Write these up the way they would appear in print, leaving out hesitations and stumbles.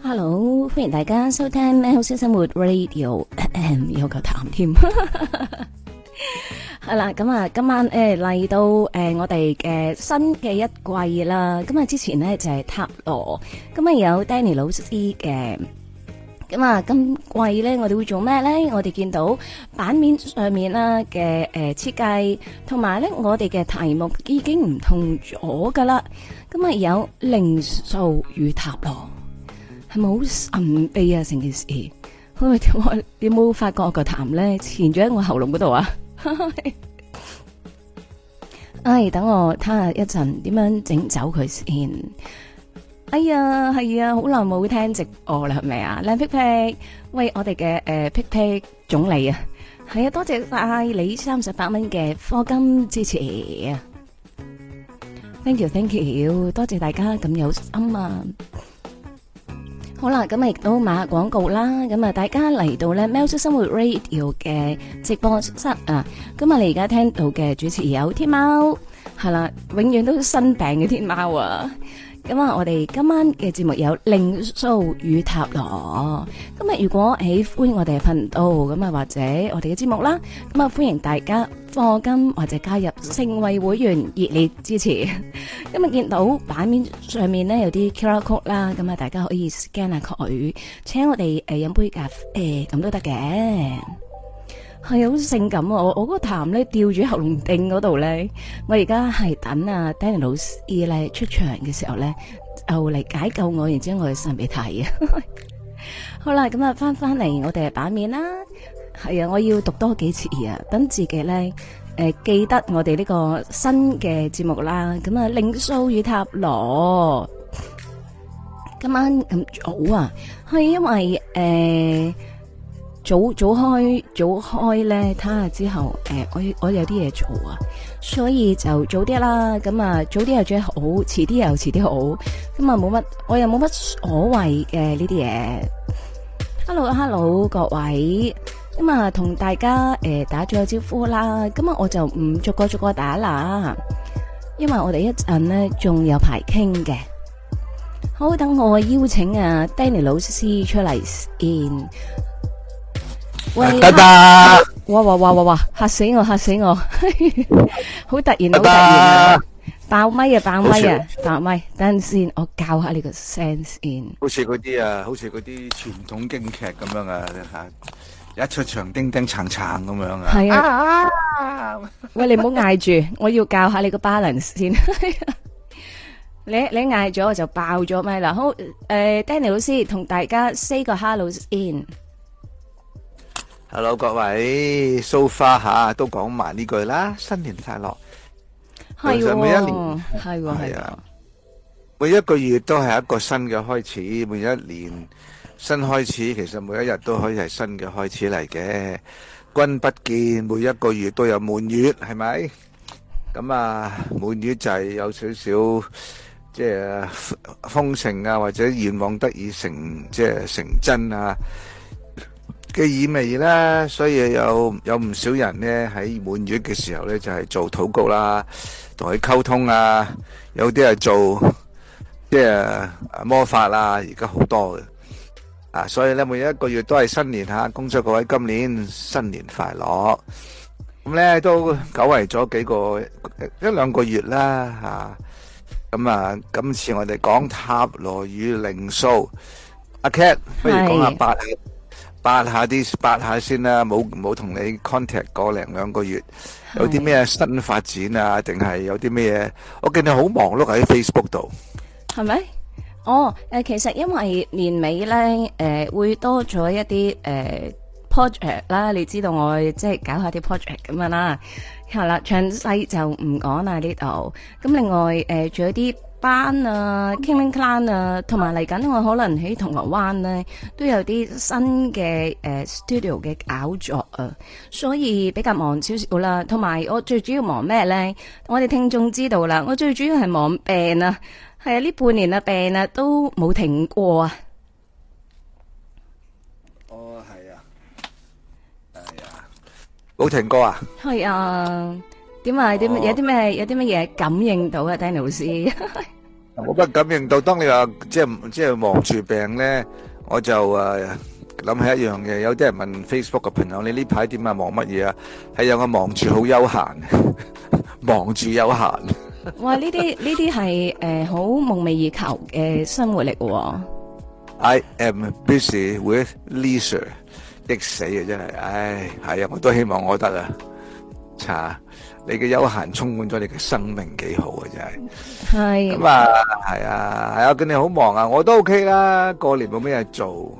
Hello，歡迎大家收聽喵式生活 Radio， 有嚿痰添。係啦，咁啊，今晚嚟到我哋嘅新嘅一季啦。咁啊，之前呢就係塔羅，咁啊有 Danny 老師嘅。咁啊，今季咧我哋會做咩咧？我哋見到版面上面啦嘅設計，同埋咧我哋嘅題目已經唔同咗噶啦。咁啊有靈數與塔羅，係咪好神秘啊？成件事，我有冇發覺我個痰咧纏咗喺我喉嚨嗰度啊？唉，等我睇下一陣點樣整走佢先。哎呀，係啊，好耐冇聽直播啦，係咪啊？靚皮皮，喂，我哋嘅皮皮總理啊，係啊，多謝晒你38蚊嘅課金支持啊 ！Thank you，多謝大家咁有心啊！好啦，咁啊亦都買下廣告啦，咁啊大家嚟到咧喵式生活 Radio 嘅直播室啊，咁啊你而家聽到嘅主持有天貓，係啦，永遠都生病嘅天貓啊！咁啊，我哋今晚嘅節目有靈數與塔羅。咁啊，如果喜歡我哋嘅頻道，咁啊或者我哋嘅節目啦，咁啊歡迎大家課金或者加入成為會員，熱烈支持。咁啊見到版面上面呢有啲 QR code 啦，咁啊大家可以 scan 下佢，請我哋飲杯咖啡咁都得嘅。係好性感啊！我個痰咧吊住喉嚨頂嗰度咧，我而家係等啊 Danny 老師咧出場嘅時候咧，就嚟解救我，然之後我去擤鼻涕啊！好啦，咁啊翻嚟我哋嘅版面啦，係啊，我要讀多幾次啊，等自己咧記得我哋呢個新嘅節目啦。咁啊，靈數與塔羅，今晚咁早啊，係因為早開咧，睇下之後我有啲嘢做啊，所以就早啲啦。咁啊，早啲又最好，遲啲又遲啲好。咁啊，冇乜，我又冇乜所謂嘅呢啲嘢。Hello， 各位，咁啊，同大家打咗個招呼啦。咁啊，我就唔逐個打啦，因為我哋一陣呢仲有排傾嘅。好，等我邀請啊 Danny 老師出嚟先。喂， 得得， 哇，嚇死我，好突然啊，爆咪，爆咪，等陣先，我教下你個聲先。 好似嗰啲傳統京劇咁樣啊，一出場叮叮撐撐咁樣啊。 係啊，喂，你唔好嗌住，我要教下你個 balance 先。你嗌咗我就爆咗咪啦。好，Danny 老師同大家 say 個 hello 先。 Hello 各位，so far 吓都講埋呢句啦，新年快樂。 係喎， 每一年係啊， 每一個月都係一個新嘅開始，每一年新開始，其實每一日都可以係新嘅開始嚟嘅。君不見，每一個月都有滿月，係咪？咁啊，滿月就係有少少即係豐盛啊，或者願望得以成真啊嘅意味啦，所以有唔少人呢喺滿月嘅時候呢，就係做禱告啦，同佢溝通啊，有啲係做即係魔法啦，而家好多嘅啊，所以呢每一個月都係新年吓，恭祝各位今年新年快樂。咁呢都久違咗一兩個月啦吓，咁啊今次我哋講塔羅與靈數，阿 Cat 不如講下八下先啦，冇同你 contact 個零兩個月，有啲咩新發展啊？定係有啲咩？我見你好忙碌喺 Facebook 度， 係咪？其實因為年尾咧，會多咗一啲project 啦，你知道我即係搞下啲 project 咁樣啦，係啦，詳細就唔講啦呢度。咁另外仲有啲班啊 King Clan 啊，同埋嚟緊我可能喺銅鑼灣咧都有啲新嘅studio 嘅搞作啊，所以比較忙少少啦。同埋我最主要忙咩咧？我哋聽眾知道啦，我最主要係忙病啊，係啊，呢半年啊病啊都冇停過啊。 哦，係啊，係啊，冇停過啊？ 係啊。點啊？有啲咩嘢感應到啊？Danny 老師， 我不感應到，當你話即係望住病咧，我就諗起一樣嘢。有啲人問 Facebook 嘅朋友：你呢排點啊？忙乜嘢啊？係有我忙住好休閒，忙住休閒。 哇！呢啲係好夢寐以求嘅生活嚟嘅。 I am busy with leisure， 激死啊！真係，唉，係啊，我都希望我得啊。查你嘅休閒充滿咗你嘅生命，幾好啊！真係。 係。 咁啊，係啊，係啊，見你好忙啊，我都 OK 啦。過年冇咩嘢做，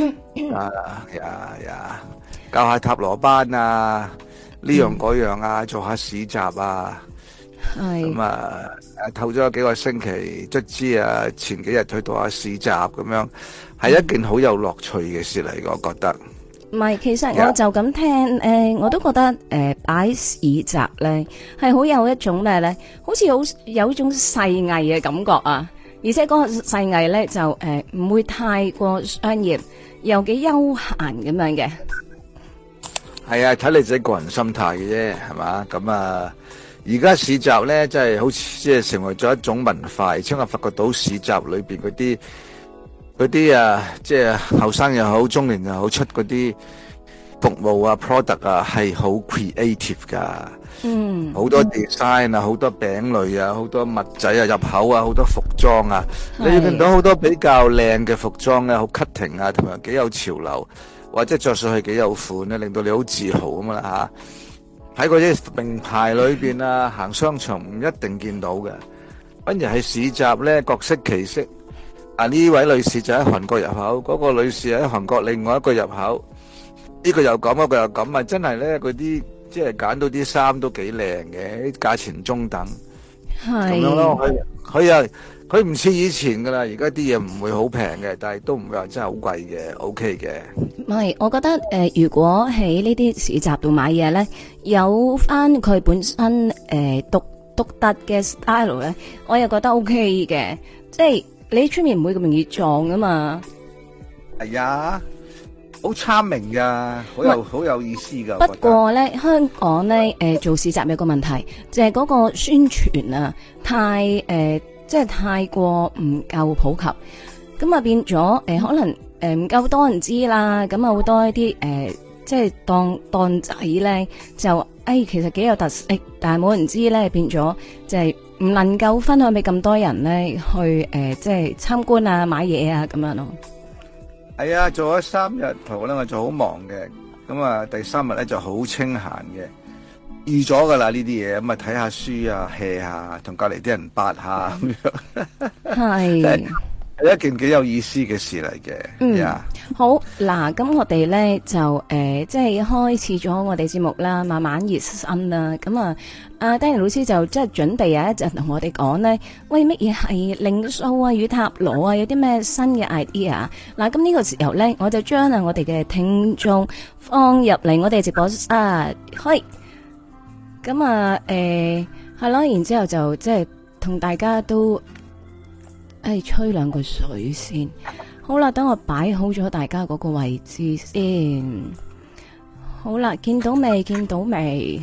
呀，教下塔羅班啊，呢樣嗰樣啊，做下市集啊。 係。 咁啊，透咗幾個星期，卒之啊，前幾日去到下市集咁樣，係一件好有樂趣嘅事嚟，我覺得。 唔係，其實我就咁聽，我都覺得擺市集咧係好有一種咩咧，好似有一種細藝嘅感覺啊！而且嗰個細藝咧就唔會太過商業，又幾休閒咁樣嘅。 係啊，睇你自己個人心態嘅啫，係嘛？咁啊，而家市集咧真係好似即係成為咗一種文化，而且我發覺到市集裏邊嗰啲啊，即係後生又好，中年又好，出嗰啲服務啊 product 啊，係好 creative 噶。嗯，好多 design 啊，好多餅類啊，好多物仔啊，入口啊，好多服裝啊，你要見到好多比較靚嘅服裝咧，好 cutting 啊，同埋幾有潮流，或者着上去幾有款咧，令到你好自豪咁啦吓。喺嗰啲名牌裏邊啊，行商場唔一定見到嘅，反而係市集咧，各色其色。啊！呢位女士就喺韓國入口，嗰個女士喺韓國另外一個入口，呢個又咁，嗰個又咁啊！真係咧，嗰啲即係揀到啲衫都幾靚嘅，價錢中等，係咁樣咯。佢唔似以前噶啦，而家啲嘢唔會好平嘅，但係都唔會話真係好貴嘅，OK 嘅。 唔係，我覺得如果喺呢啲市集度買嘢咧，有翻佢本身獨特嘅 style 咧，我又覺得 OK 嘅，即係。你出面唔會咁容易撞啊嘛？ 係啊，好參明噶，好有意思噶。 不過咧，香港咧，做市集有個問題，就係嗰個宣傳啊，即係太過唔夠普及，咁啊變咗可能唔夠多人知啦，咁啊好多一啲即係檔仔咧就其實幾有特色，但係冇人知咧，變咗就係。唔能夠分享俾咁多人咧去即係參觀啊、買嘢啊咁樣咯。 係啊，做咗3日圖咧，我就好忙嘅。咁啊，第3日咧就好清閒嘅，預咗噶啦呢啲嘢。咁啊，睇下書啊 hea 下，同隔籬啲人八下咁樣。係。係一件幾有意思嘅事嚟嘅。 嗯，好嗱，咁我哋咧就即係開始咗我哋節目啦，慢慢熱身啦。咁啊，阿 Danny 老師就即係準備有一陣同我哋講呢，喂，乜嘢係靈數啊與塔羅啊，有啲咩新嘅 idea？嗱，咁呢個時候咧，我就將我哋嘅聽眾放入嚟我哋直播室，開。咁啊，係咯，然之後就即係同大家都。吹兩個水先，好啦，等我擺好咗大家嗰個位置先。好啦，見到未？見到未？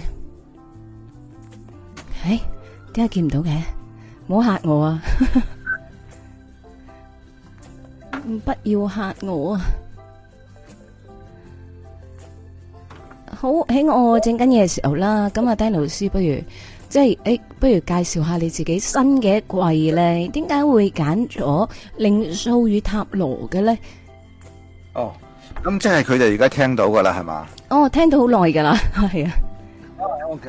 點解見唔到嘅？唔好嚇我啊！不要嚇我啊！好，喺我整緊嘢嘅時候啦，咁啊，Danny老師不如。即係不如介紹下你自己新嘅一季咧，點解會揀咗靈數與塔羅嘅咧？ 哦，咁即係佢哋而家聽到噶啦，係嘛？ 哦，聽到好耐噶啦，係啊。 OK。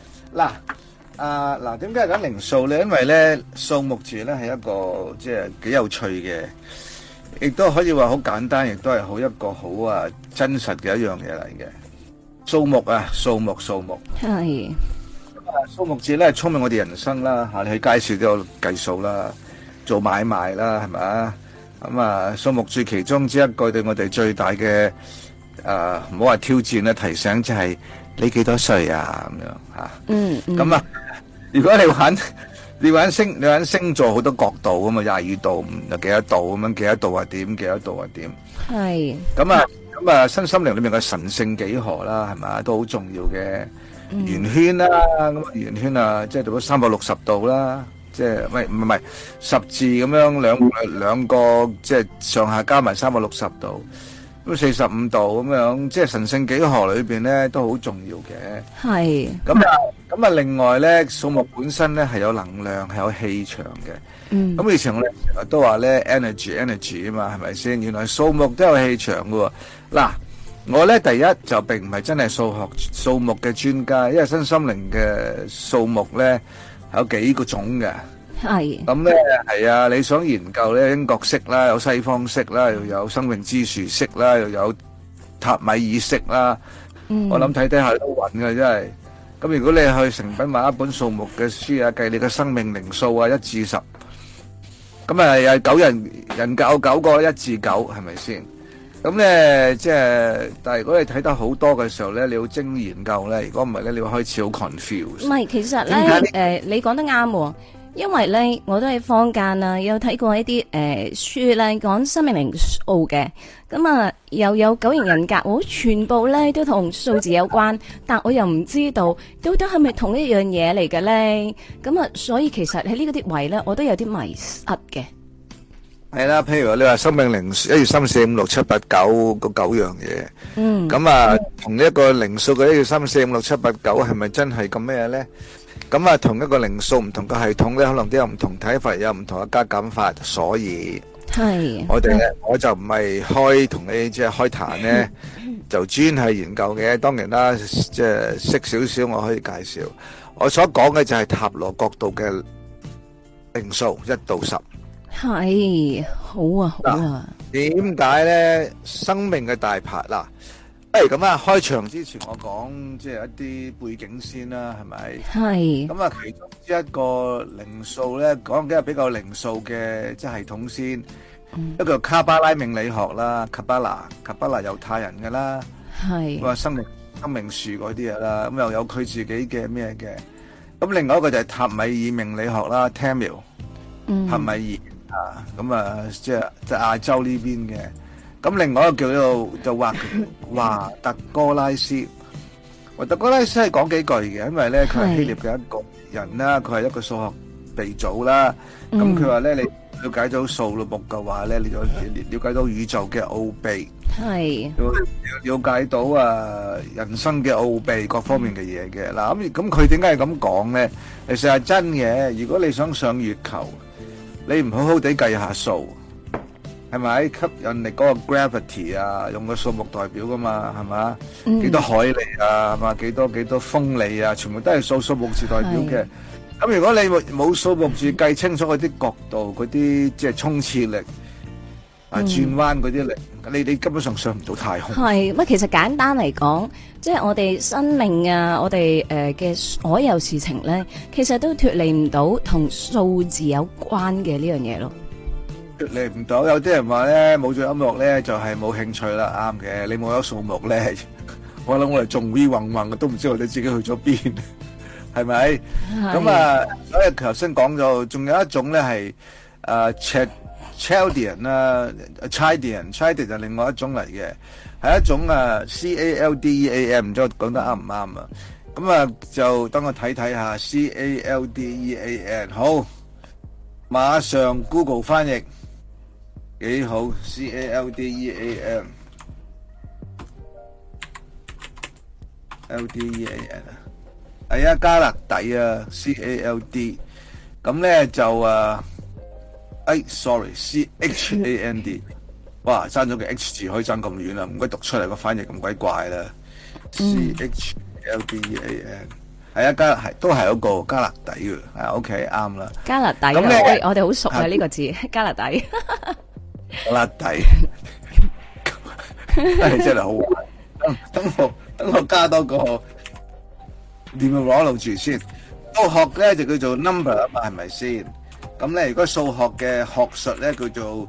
嗱，點解揀靈數咧？因為咧數目字咧係一個即係幾有趣嘅，亦都可以話好簡單，亦都係好一個好真實嘅一樣嘢嚟嘅。數目啊，數目係。 數目字咧，充滿我哋人生啦吓，你去街市都有計數啦，做買賣啦，係咪啊？咁啊，數目字其中之一個對我哋最大嘅唔好話挑戰咧，提醒就係你幾多歲啊咁樣吓。咁啊，如果你玩星座好多角度啊嘛，22度又幾多度咁樣，幾多度啊點，幾多度啊點。係。咁啊，身心靈裏面嘅神聖幾何啦，係咪啊，都好重要嘅。圓圈啦，咁圓圈啊，即係到咗360度啦， 即係唔係十字咁樣兩個即係上下加埋360度，咁45度咁樣，即係神聖幾何裏邊咧都好重要嘅。 係。 咁啊，另外咧，數目本身咧係有能量，係有氣場嘅。咁以前我哋成日都話咧 energy 啊嘛，係咪先？原來數目都有氣場㗎喎。嗱，我咧第一就並唔係真係數目嘅專家，因為身心靈嘅數目咧係有幾個種嘅。 係。 咁咧係啊，你想研究咧英國式啦，有西方式啦，又有生命之樹式啦，又有塔米爾式啦。我諗睇下都暈嘅真係。咁如果你去誠品買一本數目嘅書啊，計你嘅生命靈數啊，1至10，咁啊有人格有9個1至9，係咪先？咁咧即係，但係如果你睇得好多嘅時候咧，你要精研究咧，如果唔係咧，你會開始好 confuse。 唔係，其實咧，你講得啱喎。因為咧，我都喺坊間啊，有睇過一啲書咧，講生命靈數嘅，咁啊又有9型人格，全部咧都同數字有關，但我又唔知道到底係咪同一樣嘢嚟嘅咧？咁啊，所以其實喺呢個啲位咧，我都有啲迷失嘅。 係啦，譬如你話生命靈數1、2、3、4、5、6、7、8、9嗰9樣嘢，咁啊同一個靈數嘅1、2、3、4、5、6、7、8、9係咪真係咁咩咧？咁啊，同一個靈數唔同嘅系統咧，可能都有唔同睇法，有唔同嘅加減法，所以我哋咧，我就唔係開同你即係開壇咧，就專係研究嘅。當然啦，即係識少少，我可以介紹。我所講嘅就係塔羅角度嘅靈數1到10。 係，好啊，好啊。 點解咧？生命嘅大牌嗱。咁啊，開場之前我講即係一啲背景先啦，係咪？係。咁啊，其中一個靈數咧，講緊係比較靈數嘅即係系統先。一個卡巴拉命理學啦，卡巴拉猶太人嘅啦。係。話生命樹嗰啲嘢啦，咁又有佢自己嘅咩嘅。咁另外一個就係塔米爾命理學啦 ，Tamil。塔米爾啊，咁啊，即係亞洲呢邊嘅。咁另外一個叫做就華特哥拉斯，華特哥拉斯係講幾句嘅，因為咧佢係希臘嘅一個人啦，佢係一個數學鼻祖啦。咁佢話咧，你了解到數目嘅話咧，你就了解到宇宙嘅奧秘，係了解到人生嘅奧秘各方面嘅嘢嘅。嗱咁佢點解係咁講咧？其實係真嘅。如果你想上月球，你唔好好地計下數。係咪吸引力嗰個 gravity 啊？用個數目代表噶嘛？係嘛？幾多海里啊？係嘛？幾多風里啊？全部都係數目字代表嘅。咁如果你冇數目字計清楚嗰啲角度、嗰啲即係衝刺力啊、轉彎嗰啲力，你根本上上唔到太空。係乜？其實簡單嚟講，即係我哋生命啊，我哋嘅所有事情咧，其實都脫離唔到同數字有關嘅呢樣嘢咯。嚟唔到，有啲人話咧冇咗音樂咧就係冇興趣啦，啱嘅。你冇咗數目咧，我諗我哋仲 we 混混嘅，都唔知我哋自己去咗邊，係咪？咁啊，所以頭先講咗，仲有一種咧係Chaldean 啦 ，Chaldean 就另外一種嚟嘅，係一種Caldean，唔知我講得啱唔啱啊？咁啊，就等我睇睇下 Caldean，好，馬上 Google 翻譯。幾好 ，Caldean，Caldean 係啊，加勒底啊 ，Cald，咁咧就sorry，Chand，哇，爭咗個 H 字可以爭咁遠啦，唔該讀出嚟個翻譯咁鬼怪啦，Chaldean。係啊，都係嗰個加勒底嘅，係 OK 啱啦。加勒底，咁我哋好熟啊呢個字，加勒底。加勒底，真係好玩。等我加多個 numerology 先。數學咧就叫做 number 啊嘛，係咪先？咁咧如果數學嘅學術咧叫做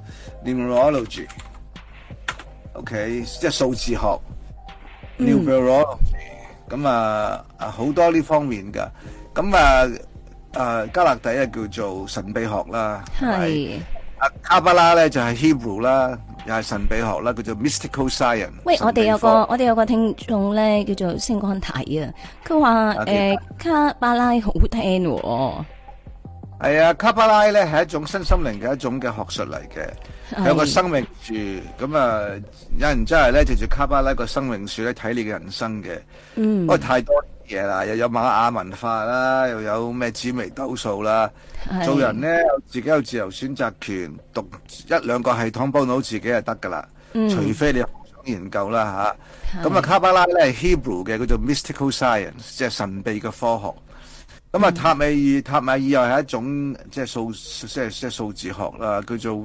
numerology，OK， 即係數字學 numerology。咁好多呢方面噶，咁加勒底叫做神秘學啦，係卡巴拉咧就係 Hebrew 啦，又係神秘學啦，叫做 mystical science。喂，我哋有個聽眾咧叫做星光體啊，佢話卡巴拉好聽喎。 係啊，卡巴拉咧係一種身心靈嘅一種嘅學術嚟嘅，有個生命樹，咁啊有人真係咧藉住卡巴拉個生命樹咧睇你嘅人生嘅，不過太多嘢啦，又有瑪雅文化啦，又有咩紫微斗數啦，做人咧自己有自由選擇權，讀一兩個系統幫到自己就得噶啦，除非你想研究啦吓。咁啊卡巴拉咧係 Hebrew 嘅，叫做 Mystical Science， 即係神秘嘅科學。咁啊，塔米爾又係一種即係數字學啦，叫做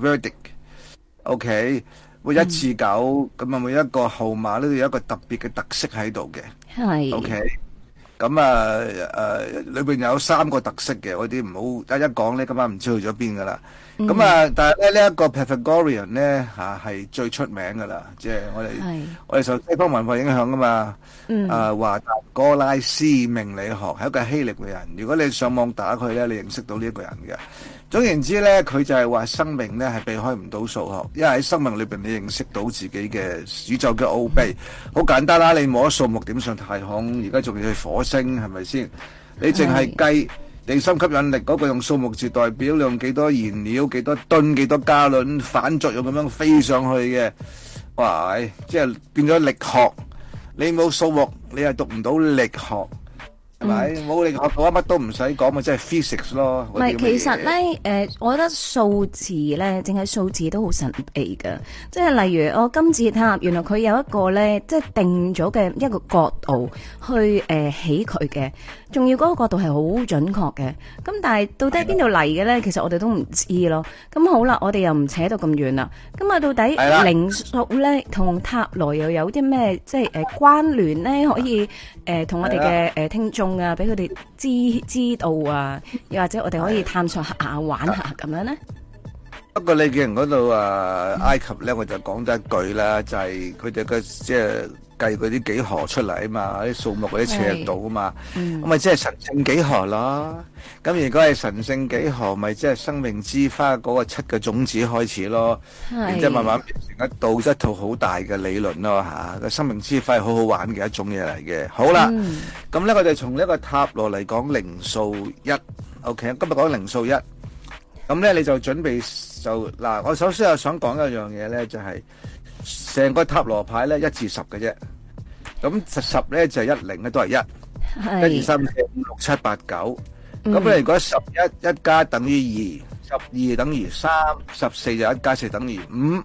Verdict。OK， 會1至9，咁啊每一個號碼呢都有一個特別嘅特色喺度嘅。係。OK， 咁啊裏邊有3個特色嘅，嗰啲唔好一講咧，今晚唔知去咗邊噶啦。咁啊，但係咧呢一個 Pythagorean 咧係最出名噶啦，即係我哋受西方文化影響噶嘛。華達哥拉斯命理學係一個希臘嘅人，如果你上網打佢咧，你認識到呢一個人嘅。總言之咧，佢就係話生命咧係避開唔到數學，因為喺生命裏邊你認識到自己嘅宇宙嘅奧秘。好簡單啦，你摸數目點上太空，而家仲要去火星，係咪先？你淨係計地心吸引力嗰個用數目字代表，你用幾多燃料、幾多噸、幾多加侖反作用咁樣飛上去嘅，哇！即係變咗力學。你冇數目，你係讀唔到力學，係咪？冇力學嘅話，乜都唔使講，咪即係 physics 咯。 唔係，其實咧，我覺得數字咧，淨係數字都好神秘㗎。即係例如我金字塔，原來佢有一個咧，即係定咗嘅一個角度去起佢嘅，仲要嗰個角度係好準確嘅。咁但係到底喺邊度嚟嘅咧？其實我哋都唔知咯。咁好啦，我哋又唔扯到咁遠啦。咁啊，到底靈數咧同塔羅又有啲咩即係關聯咧？可以同我哋嘅聽眾啊，俾佢哋知道啊，又或者我哋可以探索下玩下咁樣咧。 不過你見嗰度埃及咧，我就講得一句啦，就係佢哋嘅即係計嗰啲幾何出嚟啊嘛，啲數目嗰啲尺度啊嘛，咁咪即係神聖幾何咯。咁如果係神聖幾何，咪即係生命之花嗰個7個種子開始咯，然之後慢慢變成一套好大嘅理論咯嚇。個生命之花係好好玩嘅一種嘢嚟嘅。好啦，咁咧我哋從呢個塔羅嚟講靈數1 ，OK， 今日講靈數1。咁咧你就準備就嗱，我首先又想講一樣嘢咧，就係成個塔羅牌咧1至10嘅啫。咁10咧就係10咧都係1，1、2、3、4、5、6、7、8、9。咁你如果11加等於2，12等於3，14就1加4等於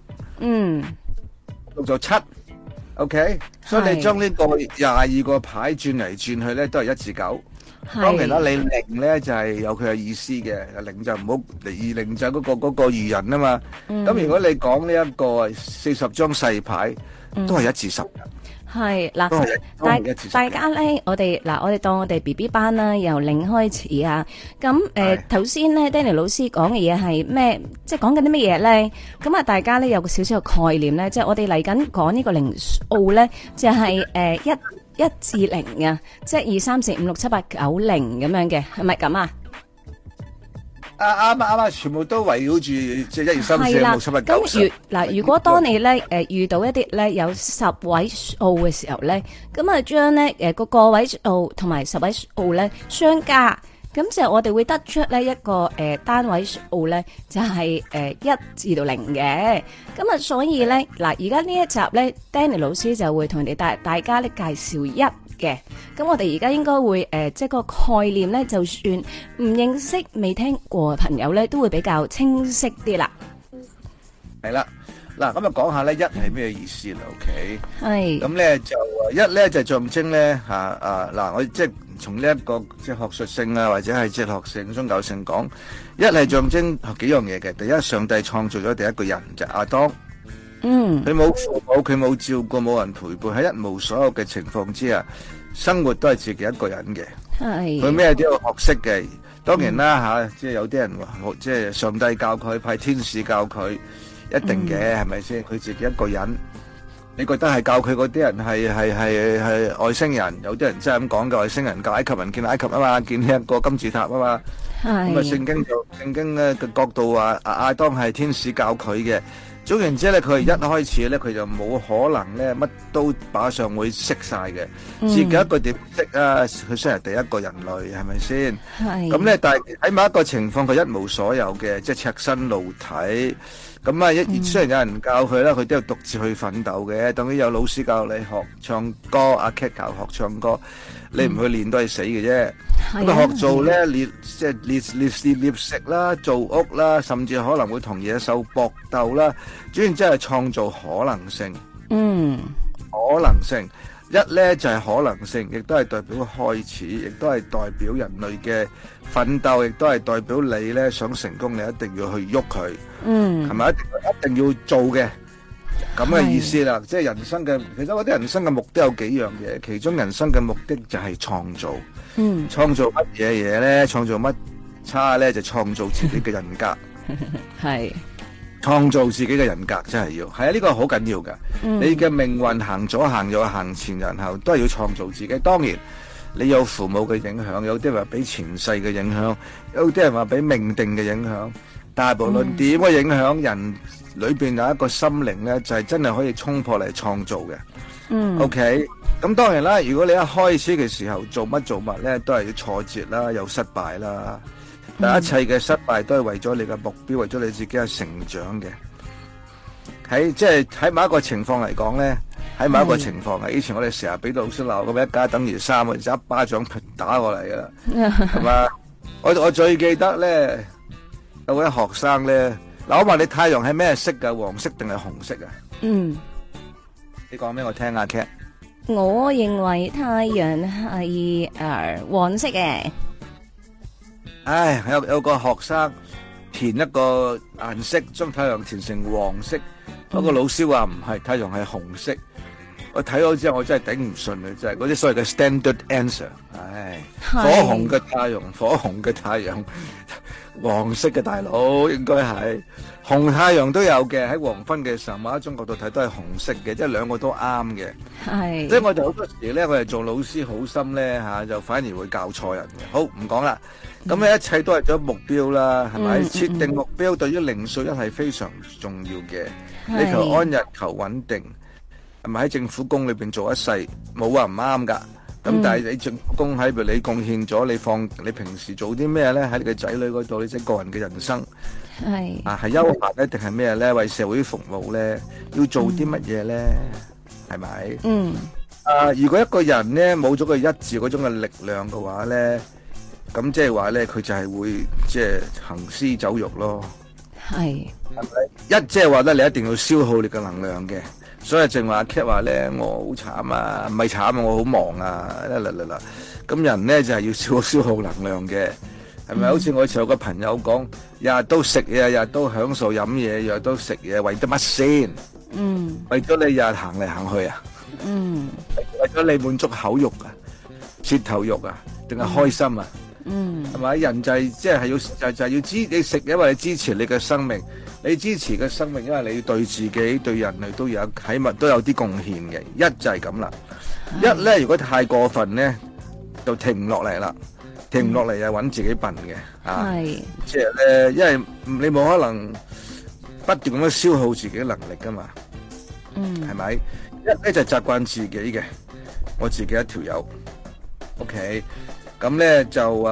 5。6就7。OK， 所以你將呢個22個牌轉嚟轉去咧，都係1至9。當然啦，你0咧就係有佢嘅意思嘅，0就唔好0就嗰個愚人啊嘛。咁如果你講呢一個40張細牌，都係1至10。係嗱， 大家咧，我哋當我哋 BB 班啦，由0開始啊。咁頭先咧 Danny 老師講嘅嘢係咩？即係講緊啲乜嘢咧？咁啊，大家咧有個少少嘅概念咧，即係我哋嚟緊講呢個靈數咧，就係1至0啊，即係2、3、4、5、6、7、8、9、0咁樣嘅，係咪咁啊？ 啱，全部都圍繞住即係1、2、3、4、5、6、7、8、9、10。 嗱，如果當你咧遇到一啲咧有10位數嘅時候咧，咁啊將咧個位數同埋10位數咧相加，咁就我哋會得出咧一個單位數咧就係1至到0嘅。咁啊，所以咧嗱，而家呢一集咧 Danny 老師就會同大家咧介紹1嘅。咁我哋而家應該會即係個概念咧，就算唔認識未聽過嘅朋友咧，都會比較清晰啲啦。 係啦，嗱咁啊講下咧1係咩意思啦 ？OK， 係咁咧就1咧就象徵咧嗱，我即係從呢一個即係學術性啊，或者係哲學性、宗教性講，1係象徵幾樣嘢嘅。第一，上帝創造咗第一個人就係亞當。佢冇父母，佢冇照顧，冇人陪伴，喺一無所有嘅情況之下，生活都係自己一個人嘅。佢咩都要學識嘅。當然啦即係有啲人話，即係上帝教佢，派天使教佢，一定嘅係咪先？佢自己一個人，你覺得係教佢嗰啲人係外星人？有啲人真係咁講嘅，外星人教埃及人見埃及啊嘛，見呢一個金字塔啊嘛。咁啊，聖經嘅角度話，亞當係天使教佢嘅。 總言之咧，佢係一開始咧，佢就冇可能咧乜都馬上會識晒嘅。自己一個點識啊？佢雖然係第一個人類，係咪先？ 係。 咁咧，但係喺某一個情況，佢一無所有嘅，即係赤身露體。咁啊，雖然有人教佢啦，佢都要獨自去奮鬥嘅。等於有老師教你學唱歌，阿 Cat 教學唱歌，你唔去練都係死嘅啫。咁啊，學做咧即係獵食啦，做屋啦，甚至可能會同野獸搏鬥啦。主要即係創造可能性。可能性一咧就係可能性，亦都係代表開始，亦都係代表人類嘅奮鬥，亦都係代表你咧想成功，你一定要去喐佢。係咪一定要做嘅咁嘅意思啦？即係人生嘅，其實我啲人生嘅目的有幾樣嘢，其中人生嘅目的就係創造。創造乜嘢嘢咧？創造乜差咧？就創造自己嘅人格。 係創造自己嘅人格真係要係啊！呢個好緊要噶。你嘅命運行左行右行前然後都係要創造自己。當然你有父母嘅影響，有啲人話俾前世嘅影響，有啲人話俾命定嘅影響。但係無論點嘅影響，人裏邊有一個心靈咧，就係真係可以衝破嚟創造嘅。OK，咁當然啦，如果你一開始嘅時候做乜咧，都係要挫折啦，有失敗啦。但一切嘅失敗都係為咗你嘅目標，為咗你自己嘅成長嘅。即係喺某一個情況嚟講咧，喺某一個情況啊，以前我哋成日俾老師鬧咁，一加等於三，就一巴掌打過嚟噶啦，係嘛？我最記得咧。有位學生咧，嗱，我問你太陽係咩色噶？黃色定係紅色啊？你講俾我聽啊 ，Cat。 我認為太陽係黃色嘅。 唉，有個學生填一個顏色，將太陽填成黃色，不過老師話唔係，太陽係紅色。我睇咗之後，我真係頂唔順啊！真係嗰啲所謂嘅 standard answer， 唉，火紅嘅太陽，火紅嘅太陽，黃色嘅大佬應該係紅太陽都有嘅。喺黃昏嘅時候，某一種角度睇都係紅色嘅，即係兩個都啱嘅。係，即係我哋好多時咧，我哋做老師好心咧嚇，就反而會教錯人嘅。好，唔講啦。咁咧一切都係咗目標啦，係咪？設定目標對於靈數一係非常重要嘅。你求安逸，求穩定。係咪喺政府工裏邊做一世冇話唔啱噶？咁但係你政府工喺度，你貢獻咗，你平時做啲咩咧？喺你嘅仔女嗰度，你即係個人嘅人生係休閒咧，定係咩咧？為社會服務咧，要做啲乜嘢咧？係咪？如果一個人咧冇咗個一致嗰種嘅力量嘅話咧，咁即係話咧，佢就係會即係行屍走肉咯。係咪？即係話咧，你一定要消耗你嘅能量嘅。所以正話阿 Cat 話咧，我好慘啊，唔係慘啊，我好忙啊，咁人咧就係要消耗能量嘅，係咪？好似我以前有個朋友講，日日都食嘢，日日都享受飲嘢，日日都食嘢，為咗乜先？為咗你日日行嚟行去啊？為咗你滿足口欲啊、舌頭肉啊，定係開心啊？係咪？人就係即係要你食，因為你支持你嘅生命。你支持嘅生命，因為你對自己、對人類都有起碼都有啲貢獻嘅。一就係咁啦，一咧如果太過分咧，就停唔落嚟啦，停唔落嚟又揾自己笨嘅啊！即係咧，因為你冇可能不斷咁樣消耗自己能力噶嘛，係咪？一咧就習慣自己嘅，我自己一條友 ，OK，咁咧就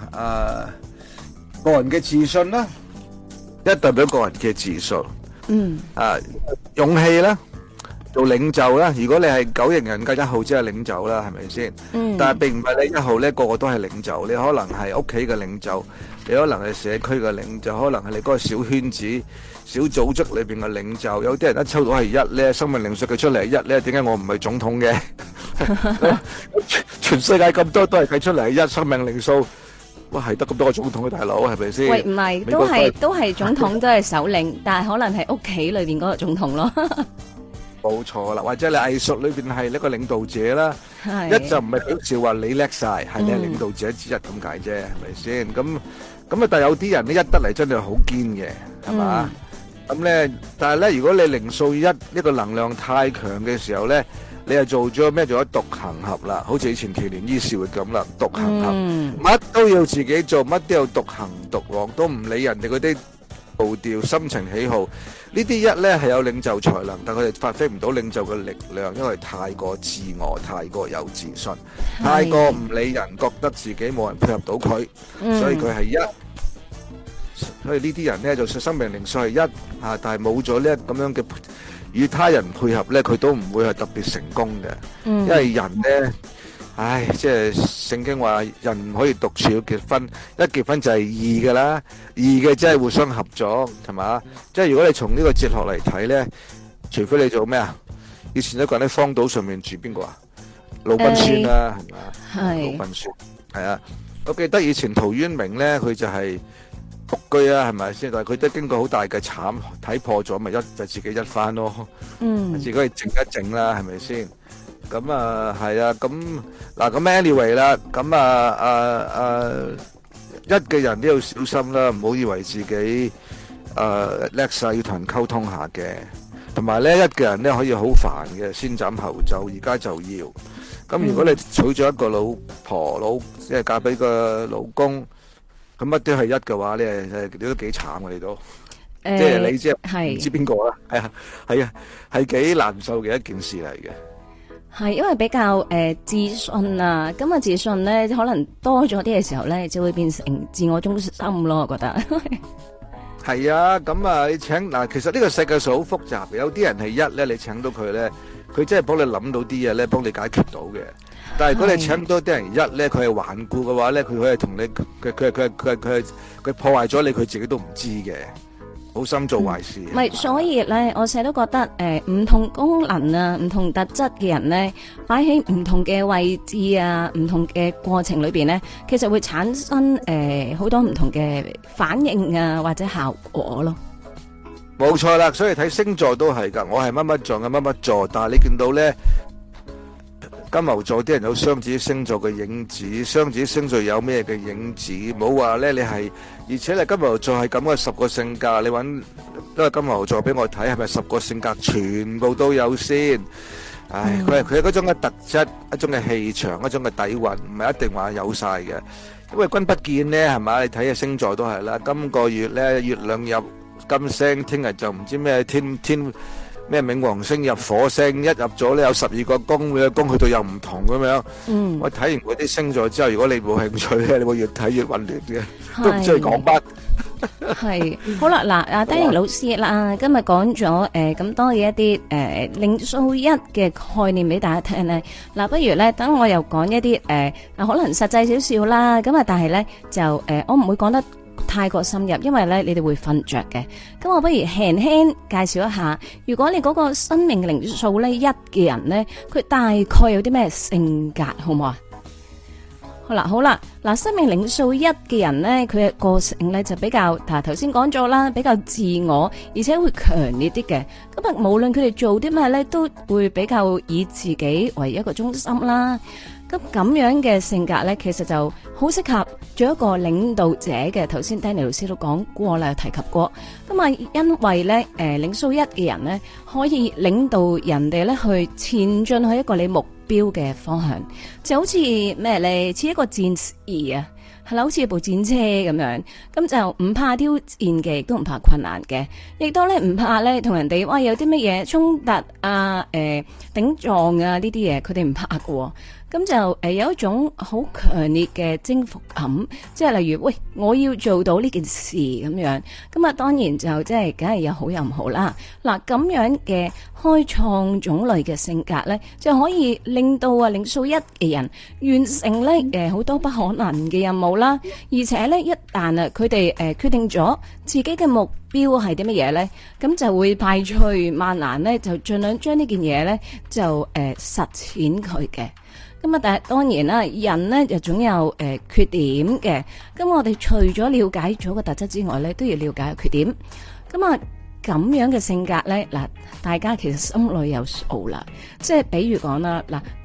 個人嘅自信啦。一代表個人嘅自信，勇氣啦，做領袖啦。如果你係9型人格1號，即係領袖啦，係咪先？但係並唔係你1號咧，個個都係領袖。你可能係屋企嘅領袖，你可能係社區嘅領袖，可能係你嗰個小圈子、小組織裏邊嘅領袖。有啲人一抽到係1咧，生命靈數佢出嚟係1咧，點解我唔係總統嘅？全世界咁多都係計出嚟係1，生命靈數。哇，係得咁多個總統嘅大佬，係咪先？ 喂，唔係，都係總統，都係首領，但係可能係屋企裏邊嗰個總統咯。 冇錯啦，或者你藝術裏邊係一個領導者啦，一就唔係表示話你叻晒，係你係領導者之一咁解啫，係咪先？咁啊，但係有啲人咧一得嚟真係好堅嘅，係嘛？咁咧，但係咧，如果你靈數一個能量太強嘅時候咧。你又做咗咩？做咗獨行俠啦，好似以前奇連伊士活咁啦，獨行俠，乜都要自己做，乜都要獨行獨往，都唔理人哋嗰啲步調、心情喜好，呢啲一咧係有領袖才能，但佢哋發揮唔到領袖嘅力量，因為太過自我、太過有自信、太過唔理人，覺得自己冇人配合到佢，所以佢係一。所以呢啲人咧就生命靈數係一啊，但係冇咗呢咁樣嘅與他人配合咧，佢都唔會係特別成功嘅。因為人咧，唉，即係聖經話人唔可以獨處要結婚，一結婚就係義㗎啦，義嘅即係互相合作，係嘛？即係如果你從呢個哲學嚟睇咧，除非你做咩啊？以前一個人喺荒島上面住邊個啊？魯賓孫啦，係嘛？魯賓孫係啊，我記得以前陶淵明咧，佢就係獨居啊，係咪先？但係佢都經過好大嘅慘，睇破咗，咪就自己一番咯。自己去靜一靜啦，係咪先？咁啊，係啊，咁嗱，咁 anyway 啦，咁一嘅人都要小心啦，唔好以為自己叻晒，要同人溝通下嘅。同埋咧，一嘅人咧可以好煩嘅，先斬後奏，而家就要。咁如果你娶咗一個老婆即係嫁俾個老公。咁乜都係一嘅話咧，你都幾慘嘅，你都，即係你即係唔知邊個啦，係啊，係幾難受嘅一件事嚟嘅。 係因為比較自信啊，咁啊自信咧可能多咗啲嘅時候咧，就會變成自我中心咯，我覺得。係啊，咁啊，你請嗱，其實呢個世界上好複雜嘅，有啲人係一咧，你請到佢咧，佢真係幫你諗到啲嘢咧，幫你解決到嘅。但係如果你請多啲人一咧，佢係頑固嘅話咧，佢可以同你佢破壞咗你，佢自己都唔知嘅，好心做壞事。 唔係，所以咧，我成日都覺得唔同功能啊、唔同特質嘅人咧，擺喺唔同嘅位置啊、唔同嘅過程裏邊咧，其實會產生好多唔同嘅反應啊或者效果咯。 冇錯啦，所以睇星座都係㗎，我係乜乜座嘅乜乜座，但係你見到咧。金牛座啲人有雙子星座嘅影子，雙子星座有咩嘅影子？冇話咧，你係，而且你金牛座係咁嘅10個性格，你揾都係金牛座俾我睇，係咪10個性格全部都有先？唉，佢係嗰種嘅特質，一種嘅氣場，一種嘅底蘊，唔係一定話有晒嘅。因為君不見咧，係咪？你睇下星座都係啦。今個月咧，月亮入金星，聽日就唔知咩天。咩冥王星入火星，一入咗咧有12個宮，每個宮去到又唔同咁樣。我睇完嗰啲星座之後，如果你冇興趣咧，你會越睇越混亂嘅，都唔知佢講乜。 係好啦，嗱，阿 Danny 老師啦，今日講咗咁多嘅一啲靈數一嘅概念俾大家聽咧。嗱，不如咧等我又講一啲可能實際少少啦。咁啊，但係咧就我唔會講得太過深入，因為咧你哋會瞓着嘅。咁我不如輕輕介紹一下，如果你嗰個生命靈數咧一嘅人咧，佢大概有啲咩性格，好唔好啊？好啦，嗱，生命靈數一嘅人咧，佢嘅個性咧就比較，頭先講咗啦，比較自我，而且會強烈啲嘅。咁啊，無論佢哋做啲咩咧，都會比較以自己為一個中心啦。咁樣嘅性格咧，其實就好適合做一個領導者嘅。頭先 Danny 老師都講過啦，有提及過。咁啊，因為咧，靈數一嘅人咧，可以領導人哋咧去前進去一個你目標嘅方向，就好似咩咧，似一個戰士啊，係啦，好似一部戰車咁樣。咁就唔怕挑戰嘅，亦都唔怕困難嘅，亦都咧唔怕咧同人哋哇有啲乜嘢衝突啊、頂撞啊呢啲嘢，佢哋唔怕㗎。咁就有一種好強烈嘅征服感，即係例如，喂，我要做到呢件事咁樣，咁啊當然就即係梗係有好有唔好啦。嗱，咁樣嘅開創種類嘅性格咧，就可以令到靈數一嘅人完成咧好多不可能嘅任務啦。而且咧一旦佢哋決定咗自己嘅目標係啲乜嘢咧，咁就會排除萬難咧，就盡量將呢件嘢咧就實踐佢嘅。咁啊，但係當然啦，人咧就總有缺點嘅。咁我哋除咗了解咗個特質之外咧，都要了解個缺點。咁啊，咁樣嘅性格咧，嗱，大家其實心裏有數啦。即係比如講啦，嗱，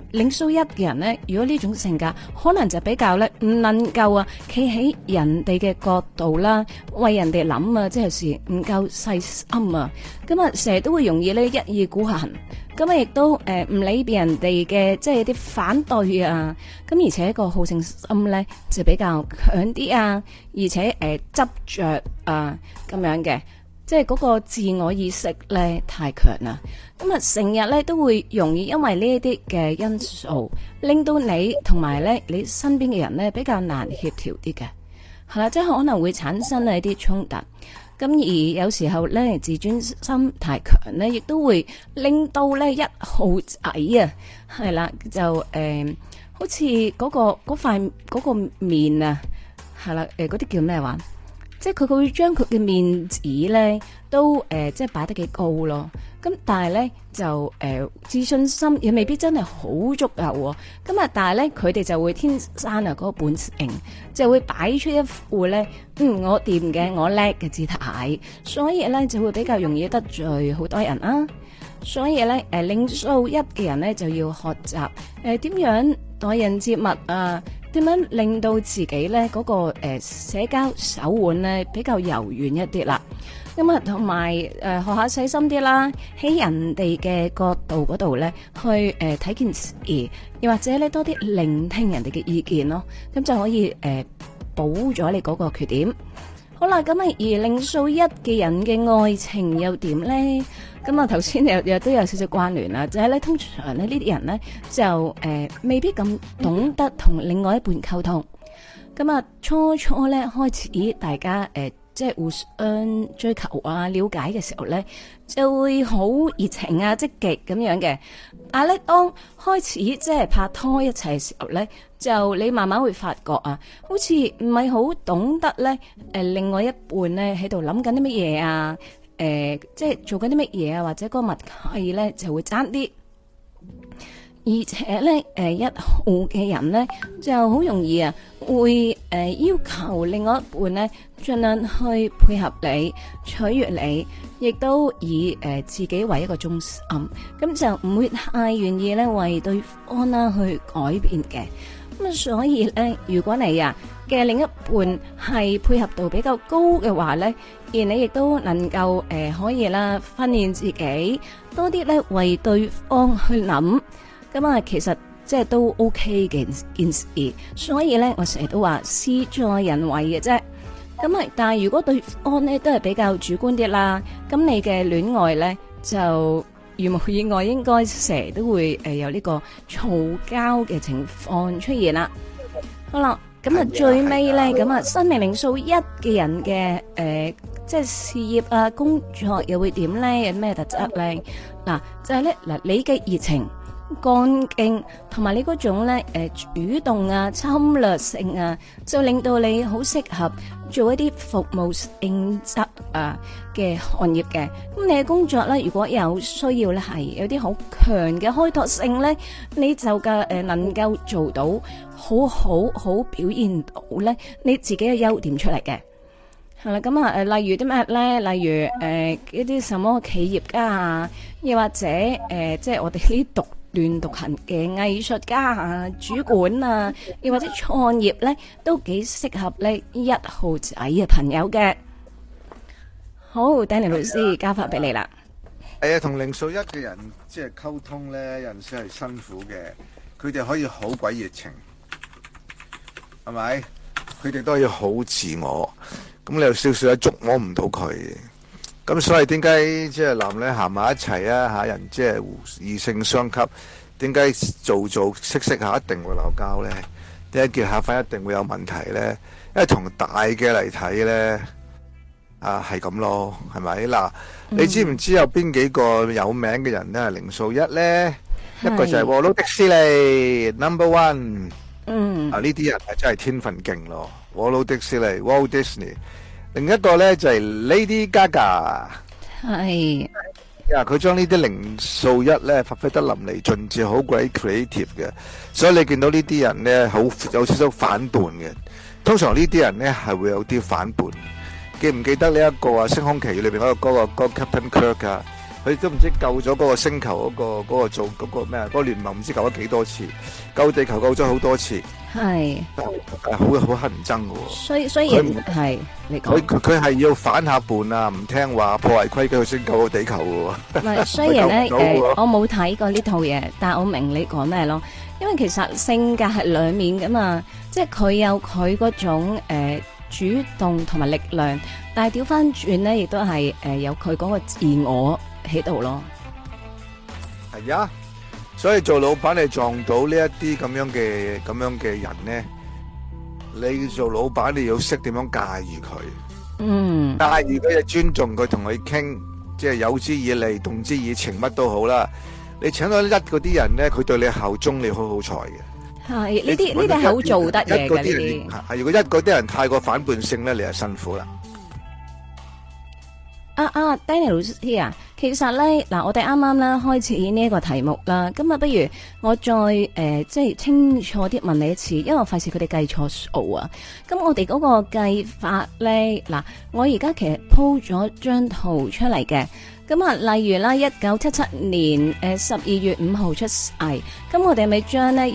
靈數一嘅人咧，如果呢種性格，可能就比較咧唔能夠啊，企喺人哋嘅角度啦，為人哋諗啊，即係有時唔夠細心啊，咁啊成日都會容易咧一意孤行，咁啊亦都唔理別人哋嘅即係啲反對啊，咁而且個好勝心咧就比較強啲啊，而且執着啊咁樣嘅。即係嗰個自我意識咧太強啦，咁啊成日咧都會容易因為呢一啲嘅因素，令到你同埋咧你身邊嘅人咧比較難協調啲嘅，係啦，即係可能會產生一啲衝突。咁而有時候咧自尊心太強咧，亦都會令到咧一號仔啊，係啦就好似嗰個面啊，係啦嗰啲叫咩話？即係佢會將佢嘅面子咧都即係擺得幾高咯，咁但係咧就自信心又未必真係好足夠，咁啊但係咧佢哋就會天生啊嗰個本性，就會擺出一副咧我掂嘅我叻嘅姿態，所以咧就會比較容易得罪好多人啊，所以咧靈數一嘅人咧就要學習點樣待人接物啊。點樣令到自己咧嗰個社交手腕咧比較柔軟一啲啦？咁啊，同埋學下細心啲啦，喺人哋嘅角度嗰度咧去睇件事，又或者咧多啲聆聽人哋嘅意見咯，咁就可以補咗你嗰個缺點。好啦，咁啊而靈數一嘅人嘅愛情又點咧？咁啊頭先又都有少少關聯啦，就係咧通常咧呢啲人咧就未必咁懂得同另外一半溝通。咁啊初咧開始大家即係互相追求啊了解嘅時候咧，就會好熱情啊積極咁樣嘅。但係咧當開始即係拍拖一齊嘅時候咧，就你慢慢會發覺啊，好似唔係好懂得咧另外一半咧喺度諗緊啲乜嘢啊，即係做緊啲乜嘢啊，或者個默契咧就會爭啲。而且咧，一號嘅人咧就好容易啊，會要求另外一半咧盡量去配合你、取悅你，亦都以自己為一個中心，咁就唔會太願意咧為對方啦去改變嘅。咁所以咧，如果你啊嘅另一半係配合度比較高嘅話咧，而你亦都能夠可以啦訓練自己多啲咧為對方去諗。咁啊，其實即係都 OK 嘅件事，所以咧，我成日都話事在人為嘅啫。咁啊，但係如果對方咧都係比較主觀啲啦，咁你嘅戀愛咧就如無意外，應該成日都會有呢個嘈交嘅情況出現啦。好啦，咁啊最尾咧，咁啊生命靈數一嘅人嘅即係事業啊工作又會點咧？有咩特質咧？嗱，就係咧嗱，你嘅熱情、幹勁同埋你嗰種咧主動啊侵略性啊，就令到你好適合做一啲服務性質啊嘅行業嘅。咁你嘅工作咧，如果有需要咧，係有啲好強嘅開拓性咧，你就嘅能夠做到好表現到咧你自己嘅優點出嚟嘅。係啦，咁啊例如啲咩咧？例如一啲什麼企業家啊，又或者即係我哋呢啲獨行嘅藝術家啊、主管啊，又或者創業咧，都幾適合呢一號仔嘅朋友嘅。好，Danny 老師交翻俾你啦。 係啊，同靈數一嘅人即係溝通咧，有陣時係辛苦嘅。佢哋可以好鬼熱情，係咪？佢哋都可以好自我。咁你有少少捉摸唔到佢。咁所以點解即係男女行埋一齊啊？吓人即係異性相吸，點解做識下一定會鬧交咧？點解結下婚一定會有問題咧？因為從大嘅嚟睇咧，啊係咁咯，係咪嗱？你知唔知有邊幾個有名嘅人咧係靈數一咧？一個就係沃魯迪士尼 ，Number One。啊呢啲人係真係天分勁咯，沃魯迪士尼 ，Walt Disney。另一個咧就係 Lady Gaga， 係呀，佢將呢啲靈數一咧發揮得淋漓盡致，好鬼 creative 嘅，所以你見到呢啲人咧好有少少反叛嘅。通常呢啲人咧係會有啲反叛。記唔記得呢一個啊《星空奇遇》裏邊嗰個歌 Captain Kirk 啊？ 佢都唔知救咗嗰個星球嗰個做嗰個咩嗰個聯盟唔知救咗幾多次，救地球救咗好多次， 係好乞人憎嘅喎。 雖然係你講， 佢係要反下叛啊，唔聽話破壞規矩，佢先救到地球嘅喎。 唔係雖然咧我冇睇過呢套嘢，但係我明你講咩咯。因為其實性格係兩面噶嘛，即係佢有佢嗰種主動同埋力量，但係調翻轉咧，亦都係有佢嗰個自我喺度咯。 係啊，所以做老闆你撞到呢一啲咁樣嘅人咧，你做老闆你要識點樣駕馭佢。 嗯， 駕馭佢就尊重佢，同佢傾，即係有之以利，動之以情，乜都好啦。你請到嗰啲人咧，佢對你效忠，你好好彩嘅。 係呢啲係好做得嘅呢啲。 係如果嗰啲人太過反叛性咧，你就辛苦啦。 Danny 老師啊，其實咧嗱，我哋啱啱咧開始呢一個題目啦，咁啊，不如我再即係清楚啲問你一次，因為我費事佢哋計錯數啊。咁我哋嗰個計法咧，嗱，我而家其實鋪咗張圖出嚟嘅。咁啊，例如啦，1977年12月5號出世，咁我哋咪將咧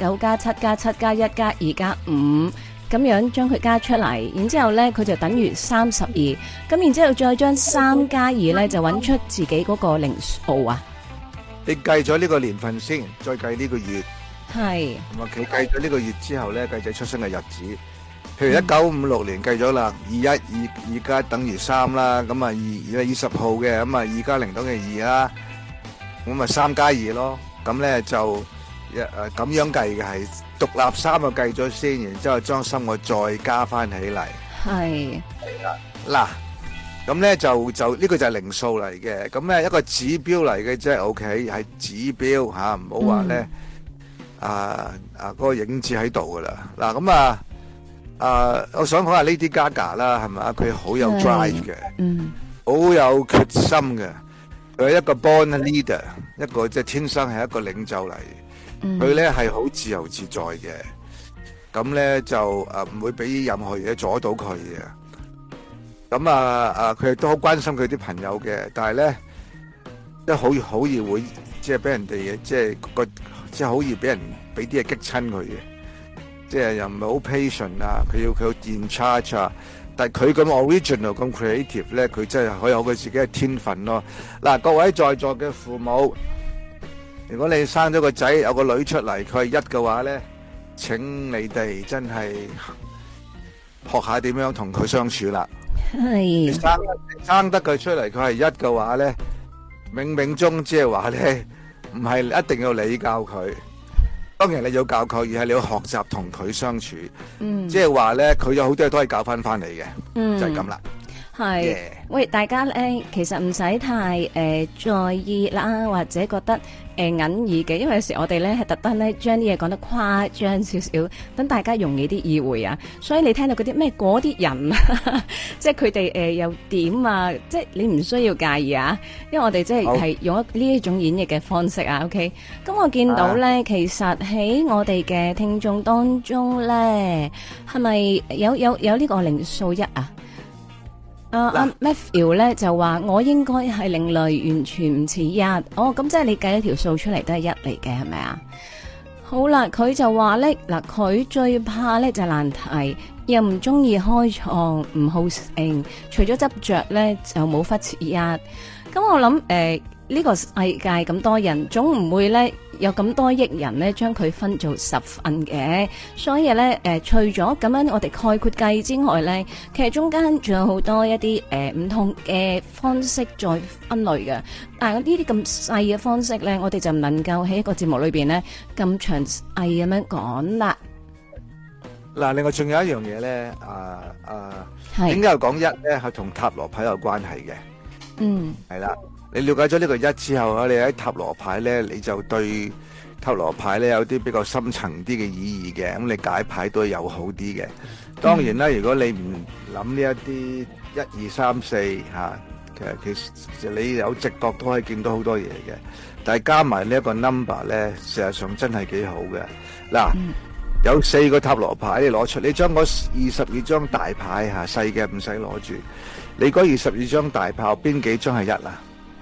1+9+7+7+1+2+5咁樣將佢加出嚟，然之後咧佢就等於32，咁然之後再將3+2咧就揾出自己嗰個零數啊。 你計咗呢個年份先，再計呢個月。係。咁啊，佢計咗呢個月之後咧，計仔出生嘅日子。譬如1956年計咗啦，2加等於3啦，咁啊20號嘅，咁啊2加0等於2啦，咁啊3+2咯，咁咧就咁樣計嘅係獨立3個計咗先，然之後將3個再加翻起嚟。係啦，嗱，咁咧就呢個就係零數嚟嘅，咁咧一個指標嚟嘅啫，OK 係指標吓，唔好話咧嗰個影子喺度噶啦，嗱咁啊。我想講下 Lady Gaga 啦，係咪？佢好有 drive 嘅，好有決心嘅。佢係一個 born leader，一個即係天生係一個領袖嚟。佢咧係好自由自在嘅，咁咧就唔會俾任何嘢阻到佢嘅。咁佢亦都好關心佢啲朋友嘅，但係咧即係好易會即係俾人哋即係好易俾人俾啲嘢激親佢嘅。即係又唔係好 patient 啊，佢要 in charge 啊，但係佢咁 original 咁 creative 咧，佢真係可以有佢自己嘅天分咯。嗱，各位在座嘅父母，如果你生咗個仔有個女出嚟，佢係1嘅話咧，請你哋真係學下點樣同佢相處啦。係生得佢出嚟，佢係1嘅話咧，冥冥中即係話咧，唔係一定要你教佢。當然你要教佢，而係你要學習同佢相處。即係話咧，佢有好多嘢都可以教翻嚟嘅，就係咁啦。係，喂，大家咧，其實唔使太在意啦，或者覺得隱意嘅，因為有時我哋咧係特登咧將啲嘢講得誇張少少，等大家容易啲意會啊。所以你聽到嗰啲咩嗰啲人，即係佢哋又點啊？即係你唔需要介意啊，因為我哋即係用呢一種演繹嘅方式啊。OK，咁我見到咧，其實喺我哋嘅聽眾當中咧，係咪有呢個靈數1啊？Matthew 咧就話我應該係另類，完全唔似1。哦，咁即係你計一條數出嚟都係1嚟嘅，係咪啊？好啦，佢就話咧嗱，佢最怕咧就係難題，又唔中意開創，唔好勝，除咗執着咧就冇忽似1。咁我諗呢個世界咁多人，總唔會咧有咁多億人咧將佢分做10份嘅，所以咧除咗咁樣我哋概括計之外咧，其實中間仲有好多一啲唔同嘅方式再分類嘅。但係呢啲咁細嘅方式咧，我哋就唔能夠喺一個節目裏邊咧咁詳細咁樣講啦。嗱，另外仲有一樣嘢咧，點解又講1咧？係同塔羅牌有關係嘅。係啦。你了解咗呢個1之後啊，你喺塔羅牌咧，你就對塔羅牌咧有啲比較深層啲嘅意義嘅，咁你解牌都有好啲嘅。當然啦，如果你唔諗呢一啲1、2、3、4吓，其實你有直覺都可以見到好多嘢嘅。但係加埋呢一個 number 咧，事實上真係幾好嘅。嗱，有4個塔羅牌你攞出，你將嗰22張大牌吓，細嘅唔使攞住。你嗰22張大牌邊幾張係1啊？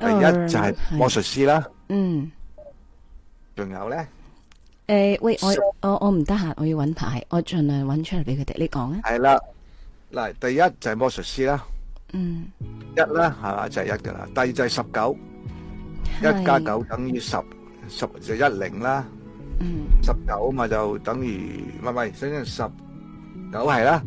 第一就係魔術師啦， 嗯， 仲有咧， 喂，我唔得閒，我要揾牌，我盡量揾出嚟俾佢哋。你講啊。 係啦，嗱，第一就係魔術師啦， 嗯， 一啦，係嘛，就係一噶啦。第二就係19，一加9等於10，10就10啦。 嗯 19嘛就等於唔係，等於19係啦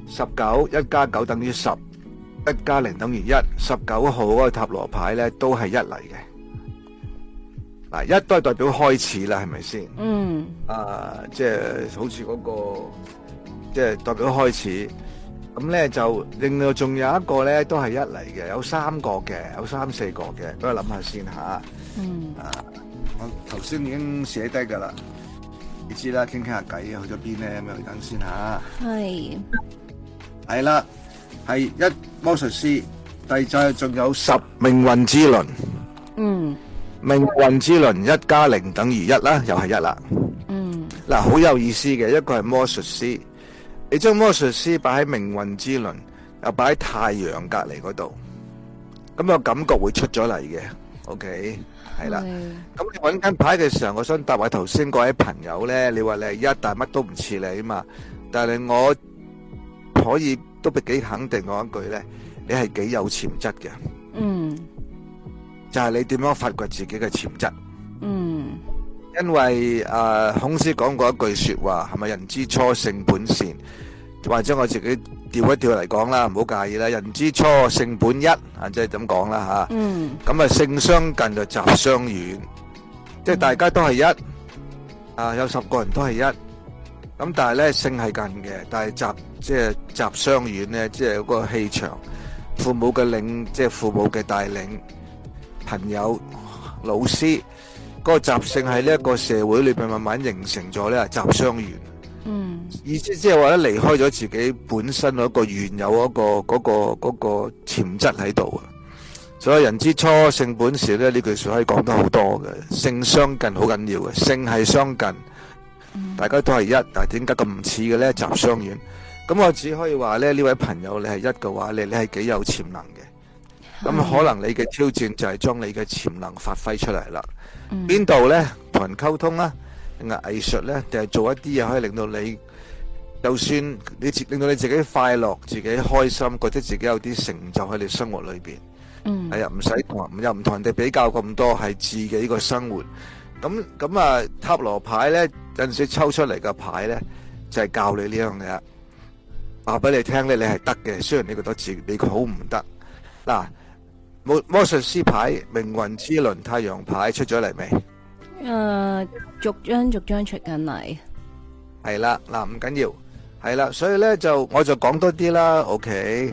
，19一加9等於10，一加0等於1，19號嗰個塔羅牌咧都係一嚟嘅。嗱，一都係代表開始啦，係咪先？ 嗯， 即係好似嗰個，即係代表開始。咁咧就另外仲有一個咧都係一嚟嘅，有3個嘅，有3、4個嘅，俾我諗下先吓。 嗯， 我頭先已經寫低噶啦，你知啦，傾下偈去咗邊咧，咁樣等先吓。係啦，係一魔術師，第就仲有10命運之輪。 嗯， 命運之輪1加0等於1啦，又係1啦。 嗯， 嗱，好有意思嘅，一個係魔術師，你將魔術師擺喺命運之輪，又擺喺太陽隔籬嗰度，咁個感覺會出咗嚟嘅。OK，係啦。咁你揾緊牌嘅時候，我想答下頭先嗰位朋友咧，你話你係1，但係乜都唔似你啊嘛。但係我可以都幾肯定講一句咧，你係幾有潛質嘅。 嗯， 就係你點樣發掘自己嘅潛質。 嗯， 因為孔子講過一句說話，係咪人之初性本善？或者我自己調一調嚟講啦，唔好介意啦。人之初性本一，即係咁講啦吓。 嗯， 咁啊，性相近就習相遠，即係大家都係一，有10個人都係一，咁但係咧性係近嘅，但係即係習相遠咧，即係嗰個氣場，父母嘅領，即係父母嘅帶領，朋友、老師，嗰個習性喺呢一個社會裏邊慢慢形成咗咧，習相遠。 嗯， 意思即係話咧，離開咗自己本身嗰個原有嗰個潛質喺度啊。所以人之初性本善咧，呢句說話可以講得好多嘅，性相近好緊要嘅，性係相近，大家都係一，但係點解咁唔似嘅咧？習相遠。咁我只可以話咧，呢位朋友你係一嘅話，你係幾有潛能嘅。咁可能你嘅挑戰就係將你嘅潛能發揮出嚟啦。邊度咧？同人溝通啦，定係藝術咧，定係做一啲嘢可以令到你，就算令到你自己快樂、自己開心，覺得自己有啲成就喺你生活裏邊。係啊，唔使又唔同人哋比較咁多，係自己個生活。咁啊，塔羅牌咧有陣時抽出嚟嘅牌咧，就係教你呢樣嘢，話俾你聽咧，你係得嘅。雖然你覺得自己好唔得。嗱，魔術師牌、命運之輪、太陽牌出咗嚟未？ 逐張出緊嚟。 係啦，嗱，唔緊要，係啦，所以咧我就講多啲啦。OK，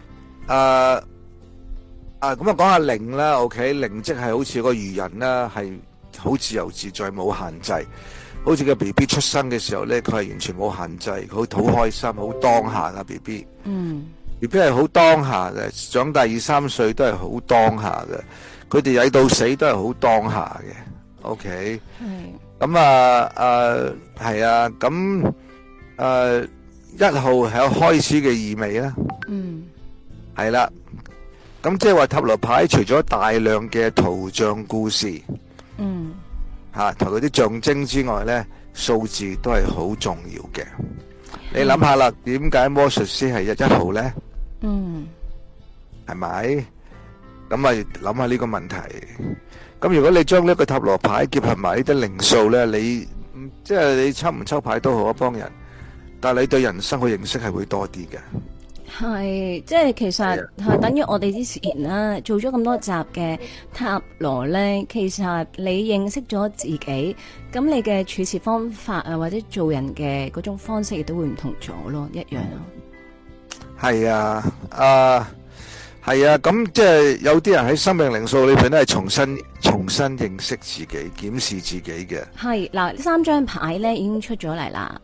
咁啊講下靈啦。OK，靈即係好似個愚人啦，係好自由自在，冇限制。好似個 BB 出生嘅時候咧，佢係完全冇限制，佢好開心，好當下噶 BB。BB 係好當下嘅，長大2、3歲都係好當下嘅，佢哋曳到死都係好當下嘅。OK，咁係啊，咁1號係有開始嘅意味啦。係啦，咁即係話塔羅牌除咗大量嘅圖像故事，同嗰啲象徵之外咧，數字都係好重要嘅。你諗下啦，點解魔術師係1號咧？係咪？咁咪諗下呢個問題。咁如果你將呢個塔羅牌結合埋呢啲靈數咧，你即係你抽唔抽牌都好一幫人，但係你對人生嘅認識係會多啲嘅。 係，即係其實係等於我哋之前啦，做咗咁多集嘅塔羅咧，其實你認識咗自己，咁你嘅處事方法啊，或者做人嘅嗰種方式亦都會唔同咗咯，一樣咯。 係啊，係啊，咁即係有啲人喺生命靈數裏邊咧，係重新認識自己、檢視自己嘅。係嗱，3張牌咧已經出咗嚟啦。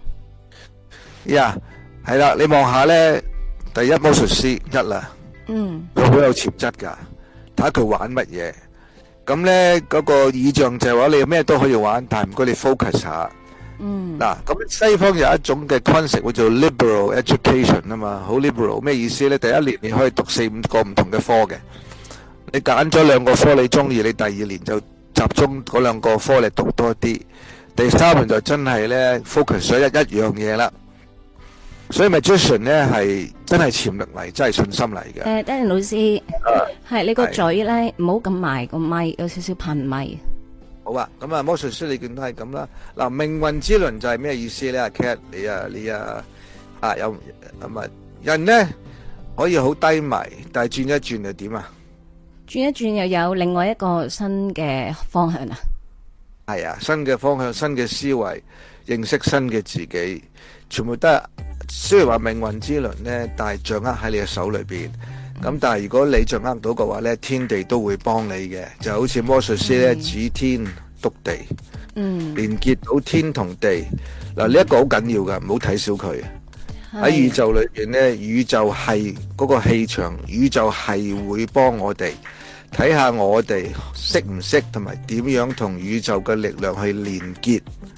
係啦，你望下咧。第一魔術師1啦，佢好有潛質噶，睇下佢玩乜嘢。咁咧嗰個意象就係話你咩都可以玩，但係唔該你 focus 下。嗱，咁西方有一種嘅 concept 叫做 liberal education 啊嘛，好 liberal 咩意思咧？第1年你可以讀4、5個唔同嘅科嘅， 你揀咗兩個科你中意，你第二年就集中嗰兩個科你讀多啲。第三年就真係咧 focus 咗一樣嘢啦。所以 magician 咧係真係潛力嚟，真係信心嚟嘅。 Danny 老師，係你個嘴咧唔好咁埋個咪，有少少噴咪。 好啊，咁啊魔術師你見都係咁啦。嗱，命運之輪就係咩意思咧？阿 Cat 你有咁啊人咧可以好低迷，但係轉一轉又點啊？ 轉一轉又有另外一個新嘅方向啊！ 係啊，新嘅方向、新嘅思維、認識新嘅自己，全部都係雖然話命運之輪咧，但係掌握喺你嘅手裏邊。咁但係如果你掌握到嘅話咧，天地都會幫你嘅，就好似魔術師咧指天篤地，連結到天同地。嗱，呢一個好緊要噶，唔好睇小佢。喺宇宙裏邊咧，宇宙係嗰個氣場，宇宙係會幫我哋。睇下我哋識唔識同埋點樣同宇宙嘅力量去連結。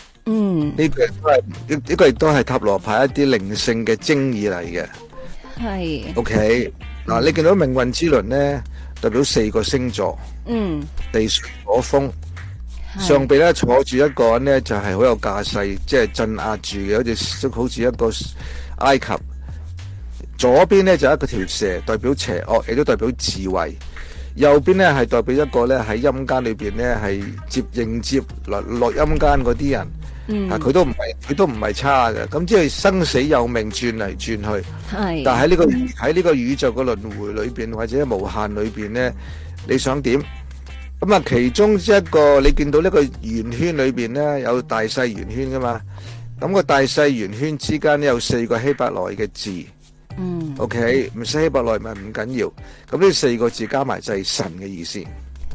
呢個亦都係塔羅牌一啲靈性嘅精義嚟嘅。 係。 OK，嗱，你見到命運之輪咧，代表4個星座。地水火風。上邊咧坐住一個人咧，就係好有架勢，即係鎮壓住嘅，好似一個埃及。左邊咧就一個條蛇，代表邪惡，亦都代表智慧。右邊咧係代表一個咧喺陰間裏邊咧係迎接落陰間嗰啲人，佢都唔係差嘅，咁即係生死有命轉嚟轉去。但係喺呢個宇宙嘅輪迴裏邊或者無限裏邊咧，你想點？咁啊，其中一個你見到呢個圓圈裏邊咧有大細圓圈噶嘛？咁個大細圓圈之間咧有4個希伯來嘅字。OK， 唔識希伯來咪唔緊要，咁呢4個字加埋就係神嘅意思，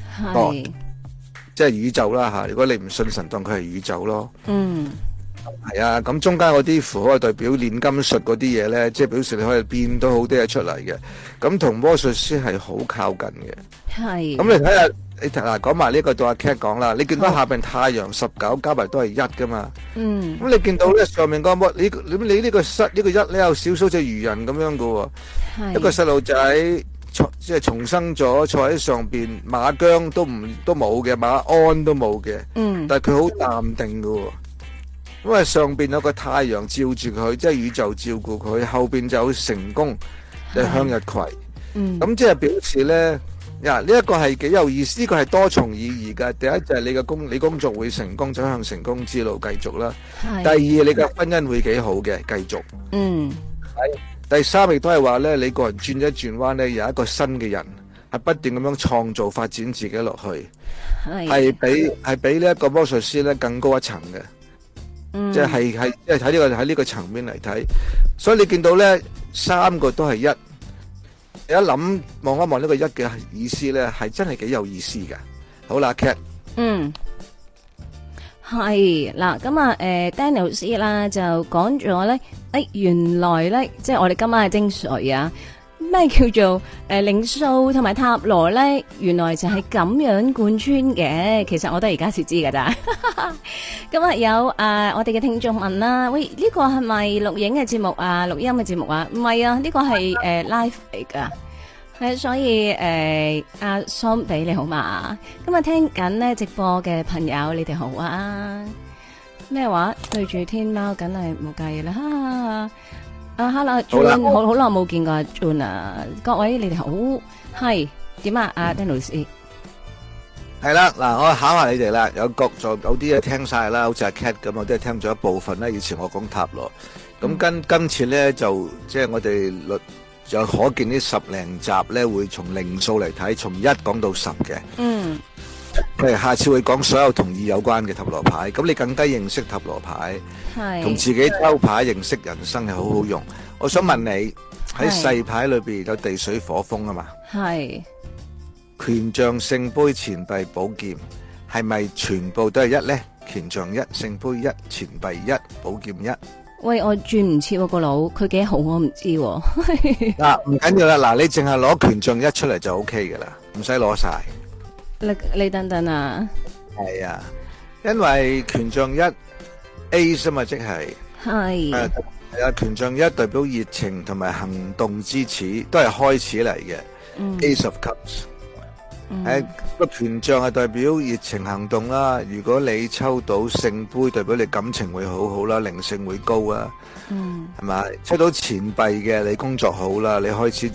即係宇宙啦吓。如果你唔信神，當佢係宇宙咯。係啊，咁中間嗰啲符號係代表煉金術嗰啲嘢咧，即係表示你可以變到好多嘢出嚟嘅。咁同魔術師係好靠近嘅。咁你睇下。你嗱講埋呢個到阿 Cat 講啦，你見到下邊太陽19加埋都係1噶嘛？咁你見到咧上面嗰個你呢個1咧有少少隻魚人咁樣噶喎，一個細路仔即係重生咗，坐喺上邊，馬姜都冇嘅，馬鞍都冇嘅，但係佢好淡定噶喎，因為上邊有個太陽照住佢，即係宇宙照顧佢，後邊就有成功就向日葵，咁即係表示咧。呢一個係幾有意思，呢個係多重意義㗎。第一就係你工作會成功，走向成功之路繼續啦。第二你嘅婚姻會幾好嘅，繼續。第三亦都係話咧，你個人轉一轉彎咧，有一個新嘅人係不斷咁樣創造發展自己落去，係比呢一個魔術師咧更高一層嘅。即係喺呢個層面嚟睇，所以你見到咧3個都係1。你一諗望一望呢個1嘅意思咧，係真係幾有意思嘅。好啦 ，Cat， 係嗱，咁啊，Danny 老師啦就講咗咧，原來咧即係我哋今晚嘅精髓啊，咩叫做靈數同埋塔羅咧？原來就係咁樣貫穿嘅。其實我都而家先知噶咋。咁啊有我哋嘅聽眾問啦，喂，呢個係咪錄影嘅節目啊？錄音嘅節目啊？唔係啊，呢個係live 嚟噶。係所以阿桑比你好嘛？今日聽緊呢直播嘅朋友，你哋好啊？咩話？對住天貓，梗係冇計啦。Hello，June，好耐冇見過阿 June 啊！各位你哋好，係點啊？阿 Danny 老師係啦，嗱，我考下你哋啦。有啲嘢聽晒啦，好似阿 Cat 咁，我都係聽咗一部分啦。以前我講塔羅，咁今次咧就即係我哋就可見呢10零集咧會從靈數嚟睇，從1講到10嘅。下次會講所有同意有關嘅塔羅牌，咁你更加認識塔羅牌，同自己抽牌認識人生係好好用。我想問你喺細牌裏邊有地水火風啊嘛？係權杖、聖杯、錢幣、寶劍，係咪全部都係1咧？權杖1、聖杯1、錢幣1、寶劍1。 喂，我轉唔切個腦，佢幾好我唔知。 嗱，唔緊要啦，嗱，你淨係攞權杖1出嚟就 OK 噶啦，唔使攞晒。 你等等啊。 係啊，因為權杖1 Ace 嘛，即係係啊，權杖1代表熱情同埋行動之始，都係開始嚟嘅。Ace of Cups， 個權杖係代表熱情行動啦。如果你抽到聖杯，代表你感情會好好啦，靈性會高啊。係咪？抽到錢幣嘅，你工作好啦，你開始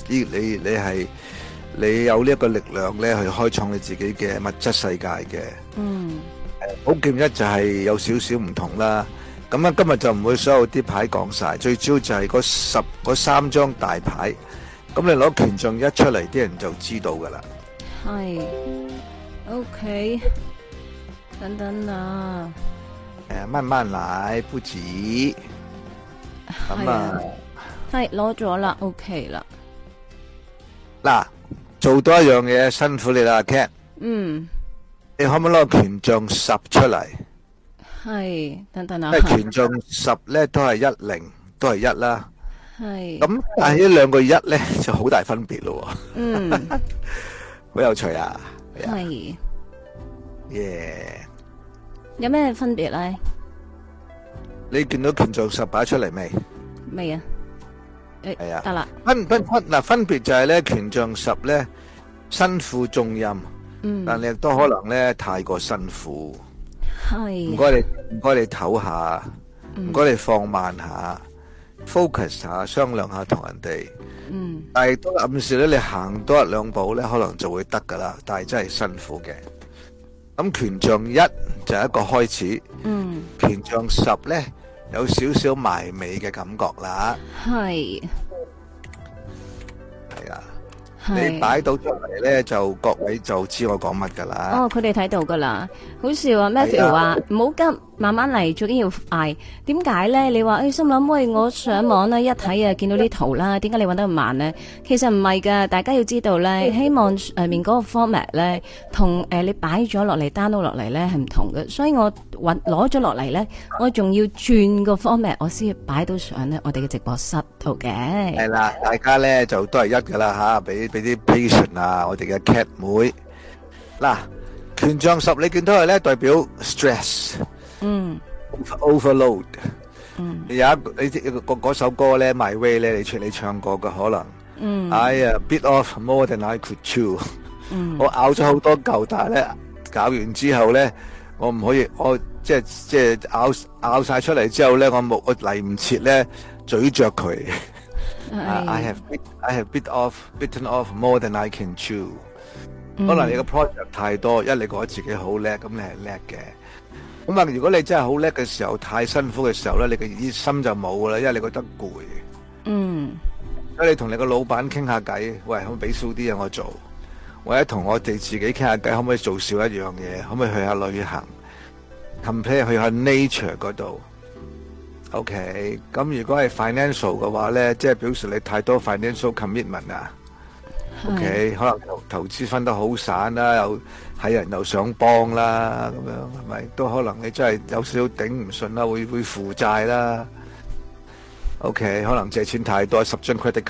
你有呢一個力量咧，去開創你自己嘅物質世界嘅。寶劍一就係有少少唔同啦。咁啊，今日就唔會所有啲牌講晒，最主要就係嗰三張大牌。咁你攞權杖一出嚟，啲人就知道噶啦。 係，OK，等等啊。 慢慢嚟，不急。咁啊， 係攞咗啦 ，OK 啦。 嗱，做多一樣嘢，辛苦你啦 ，Cat。你可唔可以攞個權杖10出嚟？係， 等等啊。 因為權杖10咧都係10，都係1啦。 係。 咁但係呢兩個1咧就好大分別咯。好有趣啊。 係。 耶。 有咩分別咧？ 你見到權杖10擺出嚟未？ 未啊。 係啊。 得啦。 分別就係咧，權杖10咧身負重任。但你亦都可能咧太過辛苦，係唔該你唞下，唔該你放慢下，focus 下，商量下同人哋，但係都暗示咧你行多一兩步咧，可能就會得噶啦，但係真係辛苦嘅。咁權杖1就係一個開始，權杖10咧有少少埋尾嘅感覺啦，係啊。你擺到出嚟咧，就各位就知我講乜噶啦。 哦，佢哋睇到噶啦，好笑啊！Matthew 話唔好急，慢慢嚟，最緊要快。點解咧？你話心諗喂，我上網咧一睇啊，見到啲圖啦，點解你搵得咁慢咧？其實唔係噶，大家要知道咧，希望上面嗰個 format 咧，同你擺咗落嚟 download 落嚟咧係唔同嘅，所以我攞咗落嚟咧，我仲要轉個 format，我先擺到上咧我哋嘅直播室度嘅。 係啦，大家咧就都係一噶啦吓，俾啲 patient 啊，我哋嘅 cat 妹。嗱，權杖10你見到係咧代表 stress，overload。有一嗰首歌咧 My Way 咧，你唱過嘅可能。I bit off more than I could chew。我咬咗好多嚿，但係咧搞完之後咧，我唔可以，我即係咬晒出嚟之後咧，我嚟唔切咧咀嚼佢。I have bitten off more than I can chew。可能你個 project 太多，你覺得自己好叻，咁你係叻嘅。咁啊，如果你真係好叻嘅時候，太辛苦嘅時候咧，你嘅熱心就冇噶啦，因為你覺得攰。所以你同你個老闆傾下偈，喂，可唔可以俾少啲嘢我做？或者同我哋自己傾下偈，可唔可以做少一樣嘢？可唔可以去下旅行 ？compare 去下 nature 嗰度。OK， 咁如果係 financial 嘅話咧，即係表示你太多 financial commitment 啊。OK， 可能投資分得好散啦，又係人又想幫啦，咁樣係咪？都可能你真係有少少頂唔順啦，會負債啦。OK， 可能借錢太多，10張 credit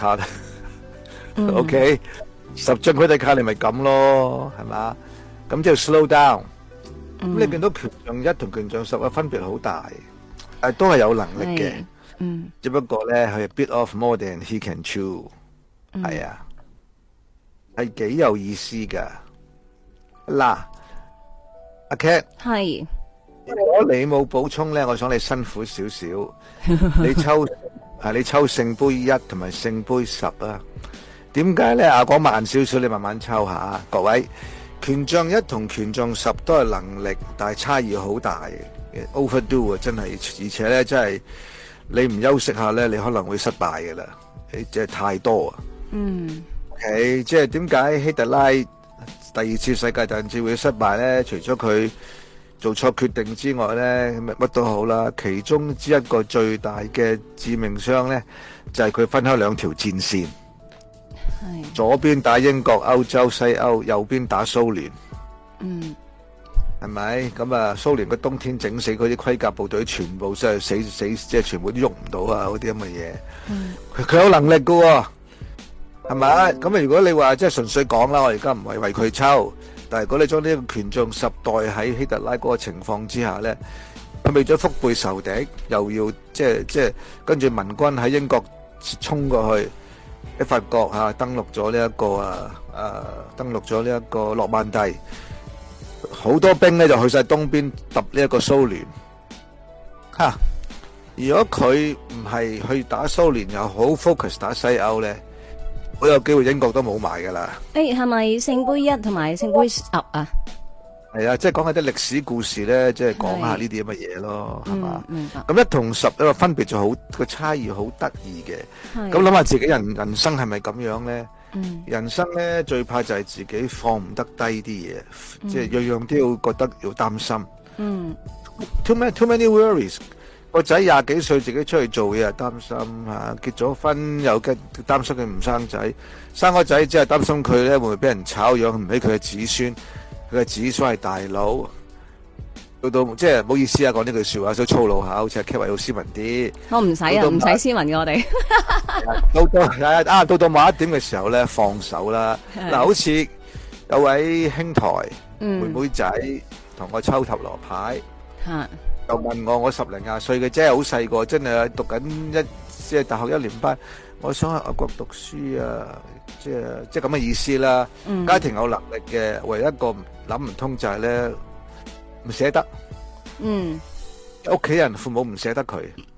card。OK， 10張 credit card 你咪咁咯，係嘛？咁即係 slow down。咁你見到權杖1同權杖10嘅分別好大。都係有能力嘅，只不過咧佢 bit off more than he can chew，係啊，係幾有意思噶。嗱，阿 Cat 係，如果你冇補充咧，我想你辛苦少少，你抽聖杯1同埋聖杯10啊。點解咧？講慢少少，你慢慢抽下。各位，權杖1同權杖10都係能力，但係差異好大嘅。overdo 啊，真係，而且咧，真係你唔休息下咧，你可能會失敗噶啦，你即係太多啊。OK， 即係點解希特拉第2次世界大戰會失敗咧？除咗佢做錯決定之外咧，乜都好啦。其中之一個最大嘅致命傷咧，就係佢分開2條戰線，左邊打英國、歐洲、西歐，右邊打蘇聯。係咪咁啊？蘇聯嘅冬天整死嗰啲盔甲部隊，全部真係死，即係全部都喐唔到啊！嗰啲咁嘅嘢，佢有能力噶，係咪？咁啊，如果你話即係純粹講啦，我而家唔係為佢抽，但係如果你將呢個權杖10代喺希特拉嗰個情況之下咧，佢為咗腹背受敵，又要即係跟住民軍喺英國衝過去， 喺法國登陸咗呢一個登陸咗呢一個諾曼第，好多兵咧就去晒東邊揼呢一個蘇聯。如果佢唔係去打蘇聯，又好 focus 打西歐咧，好有機會英國都冇埋噶啦。 係咪聖杯1同埋聖杯10啊？ 係啊，即係講下啲歷史故事咧，即係講下呢啲咁嘅嘢咯，係嘛？ 明白。 咁1同10個分別就好，個差異好得意嘅。咁諗下自己人生係咪咁樣咧？人生咧最怕就係自己放唔得低啲嘢，即係樣樣都要覺得要擔心。Too many worries。個仔20幾歲自己出去做嘢又擔心結咗婚又擔心佢唔生仔，生個仔只係擔心佢咧會唔會俾人炒養唔起佢嘅子孫，佢嘅子孫係大佬，到即係唔好意思講呢句說話，所以粗魯下，好似阿 Kevin 要斯文啲。 我唔使唔使斯文嘅我哋。到到某一點嘅時候咧，放手啦。嗱，好似有位兄台妹妹仔同我抽塔羅牌。又問我10零20歲嘅啫，好細個，真係讀緊即係大學1年班，我想去外國讀書啊，即係咁嘅意思啦。家庭有能力嘅，唯一一個諗唔通就係咧唔捨得。屋企人父母唔捨得佢。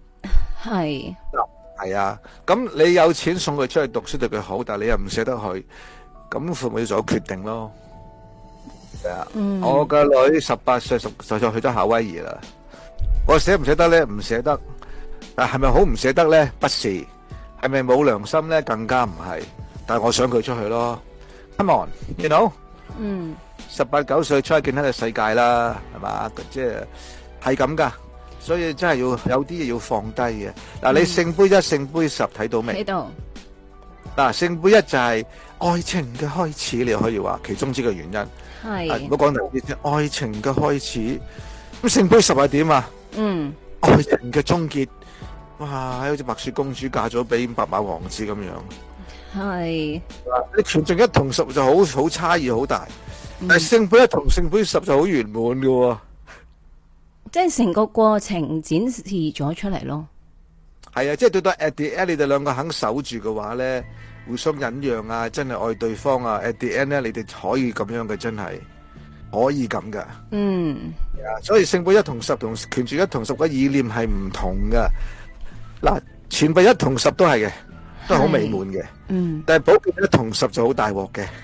係啊，咁你有錢送佢出去讀書對佢好，但係你又唔捨得佢，咁父母要做決定咯。係啊，我個女18歲就去咗夏威夷啦。我捨唔捨得咧？唔捨得，但係咪好唔捨得咧？不是，係咪冇良心咧？更加唔係。但係我想佢出去咯。Come on，you know？ 18、19歲出去見下個世界啦，係嘛？即係咁噶，所以真係要有啲嘢要放低嘅。嗱，你聖杯1、聖杯10睇到未？ 睇到。 嗱，聖杯1就係愛情嘅開始，你可以話其中之個原因。係。唔好講第啲先，愛情嘅開始。咁聖杯10係點啊？愛情嘅終結，哇！好似白雪公主嫁咗俾白馬王子咁樣。係。你權杖1同10就好差異好大，但係聖杯1同聖杯10就好圓滿㗎。 即係成個過程展示咗出嚟咯。 係啊，即係到到 at the end 你哋兩個肯守住嘅話咧，互相忍讓啊，真係愛對方啊 ，at the end 咧你哋可以咁樣嘅，真係。可以咁噶，所以聖杯1同10同權杖1同10嘅意念係唔同噶。嗱，錢幣1同10都係嘅，都係好美滿嘅。但係寶劍1同10就好大鑊嘅。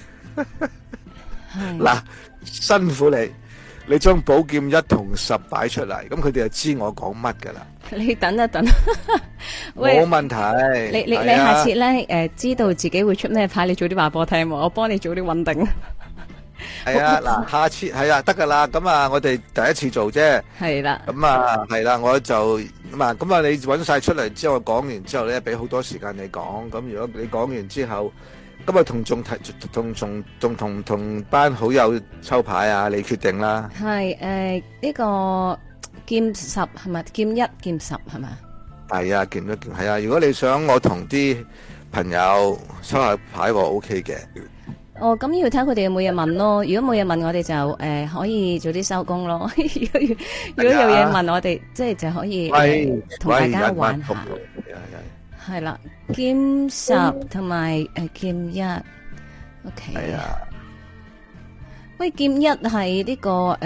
嗱，辛苦你將寶劍1同10擺出嚟，咁佢哋就知我講乜噶啦。 你等一等， 冇問題。 你下次咧知道自己會出咩牌，你早啲話俾我聽，我幫你早啲穩定。 係啊，嗱，下次係啊，得噶啦。咁啊，我哋第一次做啫。係啦。咁啊，係啦，我就咁啊，你搵晒出嚟之後，講完之後咧，俾好多時間你講。咁如果你講完之後，咁啊同班好友抽牌啊，你決定啦。係呢個劍10係咪？劍1劍10係咪？係啊，劍1係啊。如果你想我同啲朋友抽下牌，我 OK 嘅。咁要睇佢哋有冇嘢問咯。如果冇嘢問，我哋就可以早啲收工咯。如果有嘢問我哋，即係就可以同大家玩下。係啦，劍10同埋劍1 ，OK。係啊。喂，劍1係呢個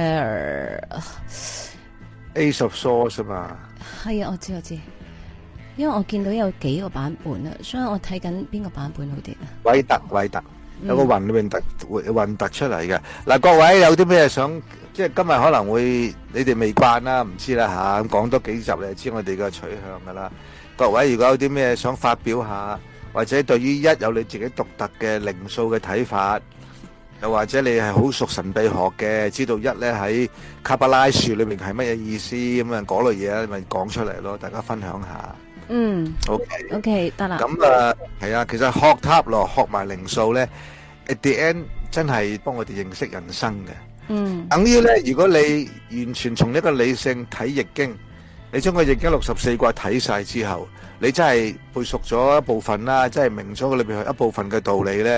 Ace of Swords 嘛？係啊，我知。因為我見到有幾個版本啊，所以我睇緊邊個版本好啲啊？韋特。有個雲裏面混突出嚟嘅。嗱，各位有啲咩想，即係今日可能會你哋未慣啦，唔知啦吓，講多幾集你就知我哋嘅取向噶啦。各位如果有啲咩想發表下，或者對於1有你自己獨特嘅靈數嘅睇法，又或者你係好熟神秘學嘅，知道1咧喺卡巴拉樹裏面係乜嘢意思咁啊，嗰類嘢咪講出嚟咯，大家分享下。OK 得啦。咁係啊，其實學塔羅學埋靈數咧 ，at the end 真係幫我哋認識人生嘅。等於咧，如果你完全從一個理性睇易經，你將個易經64卦睇晒之後，你真係背熟咗一部分啦，真係明咗佢裏邊一部分嘅道理咧，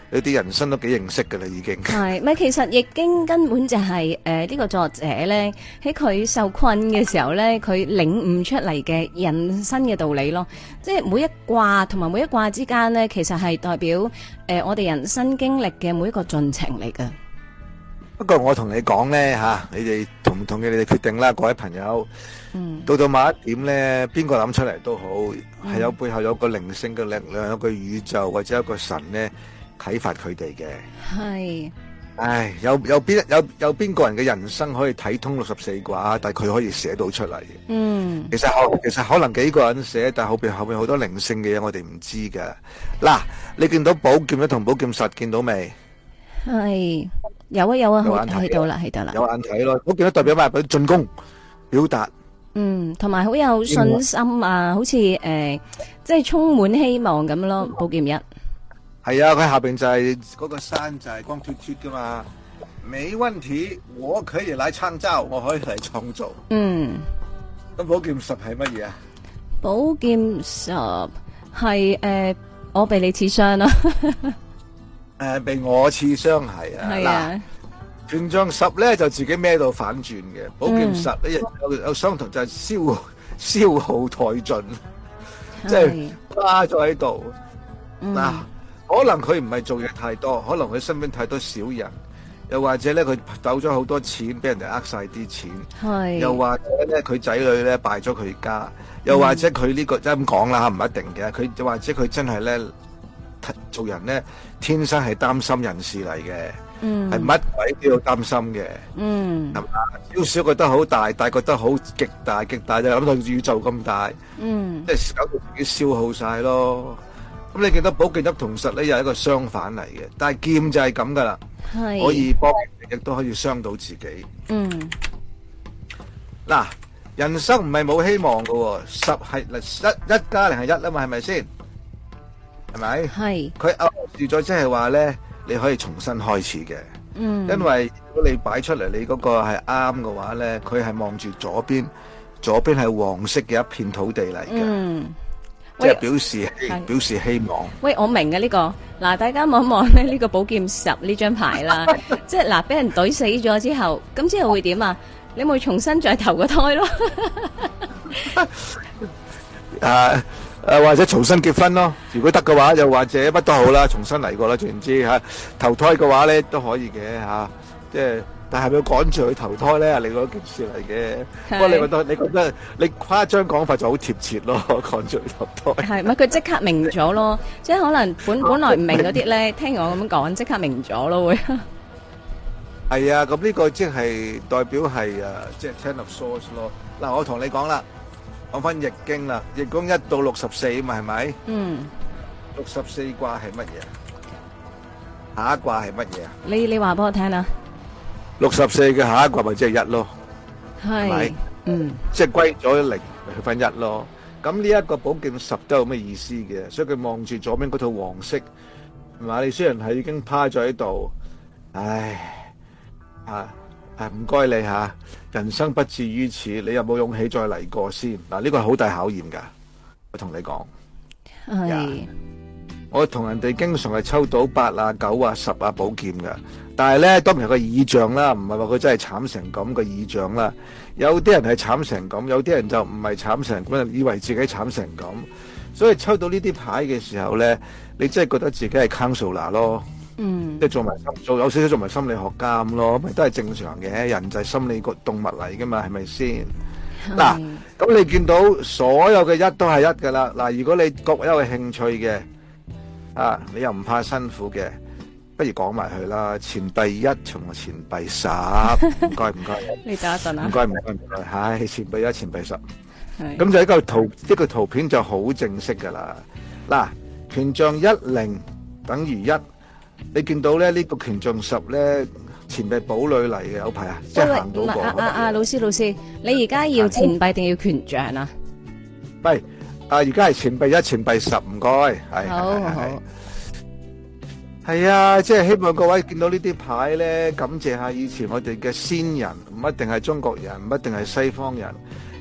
你啲人生都幾認識噶啦，已經。 係咪？其實易經根本就係呢個作者咧喺佢受困嘅時候咧，佢領悟出嚟嘅人生嘅道理咯。即係每一卦同埋每一卦之間咧，其實係代表我哋人生經歷嘅每一個進程嚟㗎。 不過我同你講咧吓，你哋同唔同意你哋決定啦，各位朋友。到某一點咧，邊個諗出嚟都好，係有背後有個靈性嘅力量，有個宇宙或者有個神咧啟發佢哋嘅。 係。 唉，有邊個人嘅人生可以睇通64卦，但係佢可以寫到出嚟嘅。其實可能幾個人寫，但係後面好多靈性嘅嘢我哋唔知噶。嗱，你見到寶劍一同寶劍十見到未？係。有啊，睇到啦，有眼睇咯。寶劍都代表咩？進攻、表達。 同埋好有信心啊，好似即係充滿希望咁咯。寶劍一係啊，佢下邊就係嗰個山就係光脫脫噶嘛，沒問題，我可以嚟創造，我可以嚟創造。咁寶劍十係乜嘢啊？ 寶劍十係我被你刺傷啦。 被我刺傷係啊。嗱，權杖十咧就自己孭到反轉嘅，寶劍十咧有相同就係消耗殆盡，即係花咗喺度。嗱，可能佢唔係做嘢太多，可能佢身邊太多小人，又或者咧佢抖咗好多錢，俾人哋呃晒啲錢，又或者咧佢仔女咧敗咗佢家，又或者佢呢個即係咁講啦，唔一定嘅，佢又或者佢真係咧做人咧天生係擔心人事嚟嘅。係乜鬼都要擔心嘅，係嘛？少少覺得好大，大覺得好極大，極大就諗到宇宙咁大，即係搞到自己消耗晒咯。咁你見到寶劍一同十咧，又係一個相反嚟嘅，但係劍就係咁噶啦，可以幫人，亦都可以傷到自己。嗱，人生唔係冇希望噶，十係一加零係一啊嘛，係咪先？係咪？係。佢暗示咗即係話咧。你可以重新開始嘅，因為如果你擺出嚟你嗰個係啱嘅話咧，佢係望住左邊係黃色嘅一片土地嚟嘅，即係表示希望。喂，我明嘅呢個，嗱，大家望一望咧呢個寶劍十呢張牌啦，即係嗱，俾人懟死咗之後，咁之後會點啊？你咪重新再投個胎咯。或者重新結婚咯，如果得嘅話，又或者乜都好啦，重新嚟過啦，總言之吓，投胎嘅話咧都可以嘅吓，即係但係咪要趕住去投胎咧？另外一件事嚟嘅。不過你覺得你誇張講法就好貼切咯，趕住去投胎。係咪佢即刻明咗咯？即係可能本來唔明嗰啲咧，聽我咁講，即刻明咗咯會。係啊，咁呢個即係代表係即係 Ten of Swords 咯。嗱，我同你講啦。講翻易經啦，易經1到64嘛，係咪？64卦係乜嘢？下一卦係乜嘢啊？你話俾我聽啦。64嘅下一卦咪即係1咯，係咪？即係歸咗0去翻1咯。咁呢一個寶劍十都有咩意思嘅？所以佢望住左邊嗰套黃色，係嘛？你雖然係已經趴咗喺度，唉，唔該你吓，人生不至於此，你有冇勇氣再嚟過先？嗱，呢個係好大考驗噶，我同你講。係，我同人哋經常係抽到8啊、9啊、10啊寶劍噶，但係咧當然係個意象啦，唔係話佢真係慘成咁個意象啦。有啲人係慘成咁，有啲人就唔係慘成咁，以為自己慘成咁。所以抽到呢啲牌嘅時候咧，你真係覺得自己係 counselor 咯。即係有少少做埋心理學家咁咯，咪都係正常嘅，人就係心理個動物嚟噶嘛，係咪先？嗱，咁你見到所有嘅一都係一噶啦。嗱，如果你各有興趣嘅，你又唔怕辛苦嘅，不如講埋佢啦。錢幣1同埋錢幣10，唔該。你等一陣啊。唔該。係錢幣1、錢幣10。咁就一個圖片就好正式噶啦。嗱，權杖10等於1。你見到咧呢個權杖10咧，錢幣堡壘嚟嘅，有排啊，即係行到過。老師，你而家要錢幣定要權杖啊？喂，而家係錢幣1、錢幣10，唔該。係。好。係啊，即係希望各位見到呢啲牌咧，感謝下以前我哋嘅先人，唔一定係中國人，唔一定係西方人，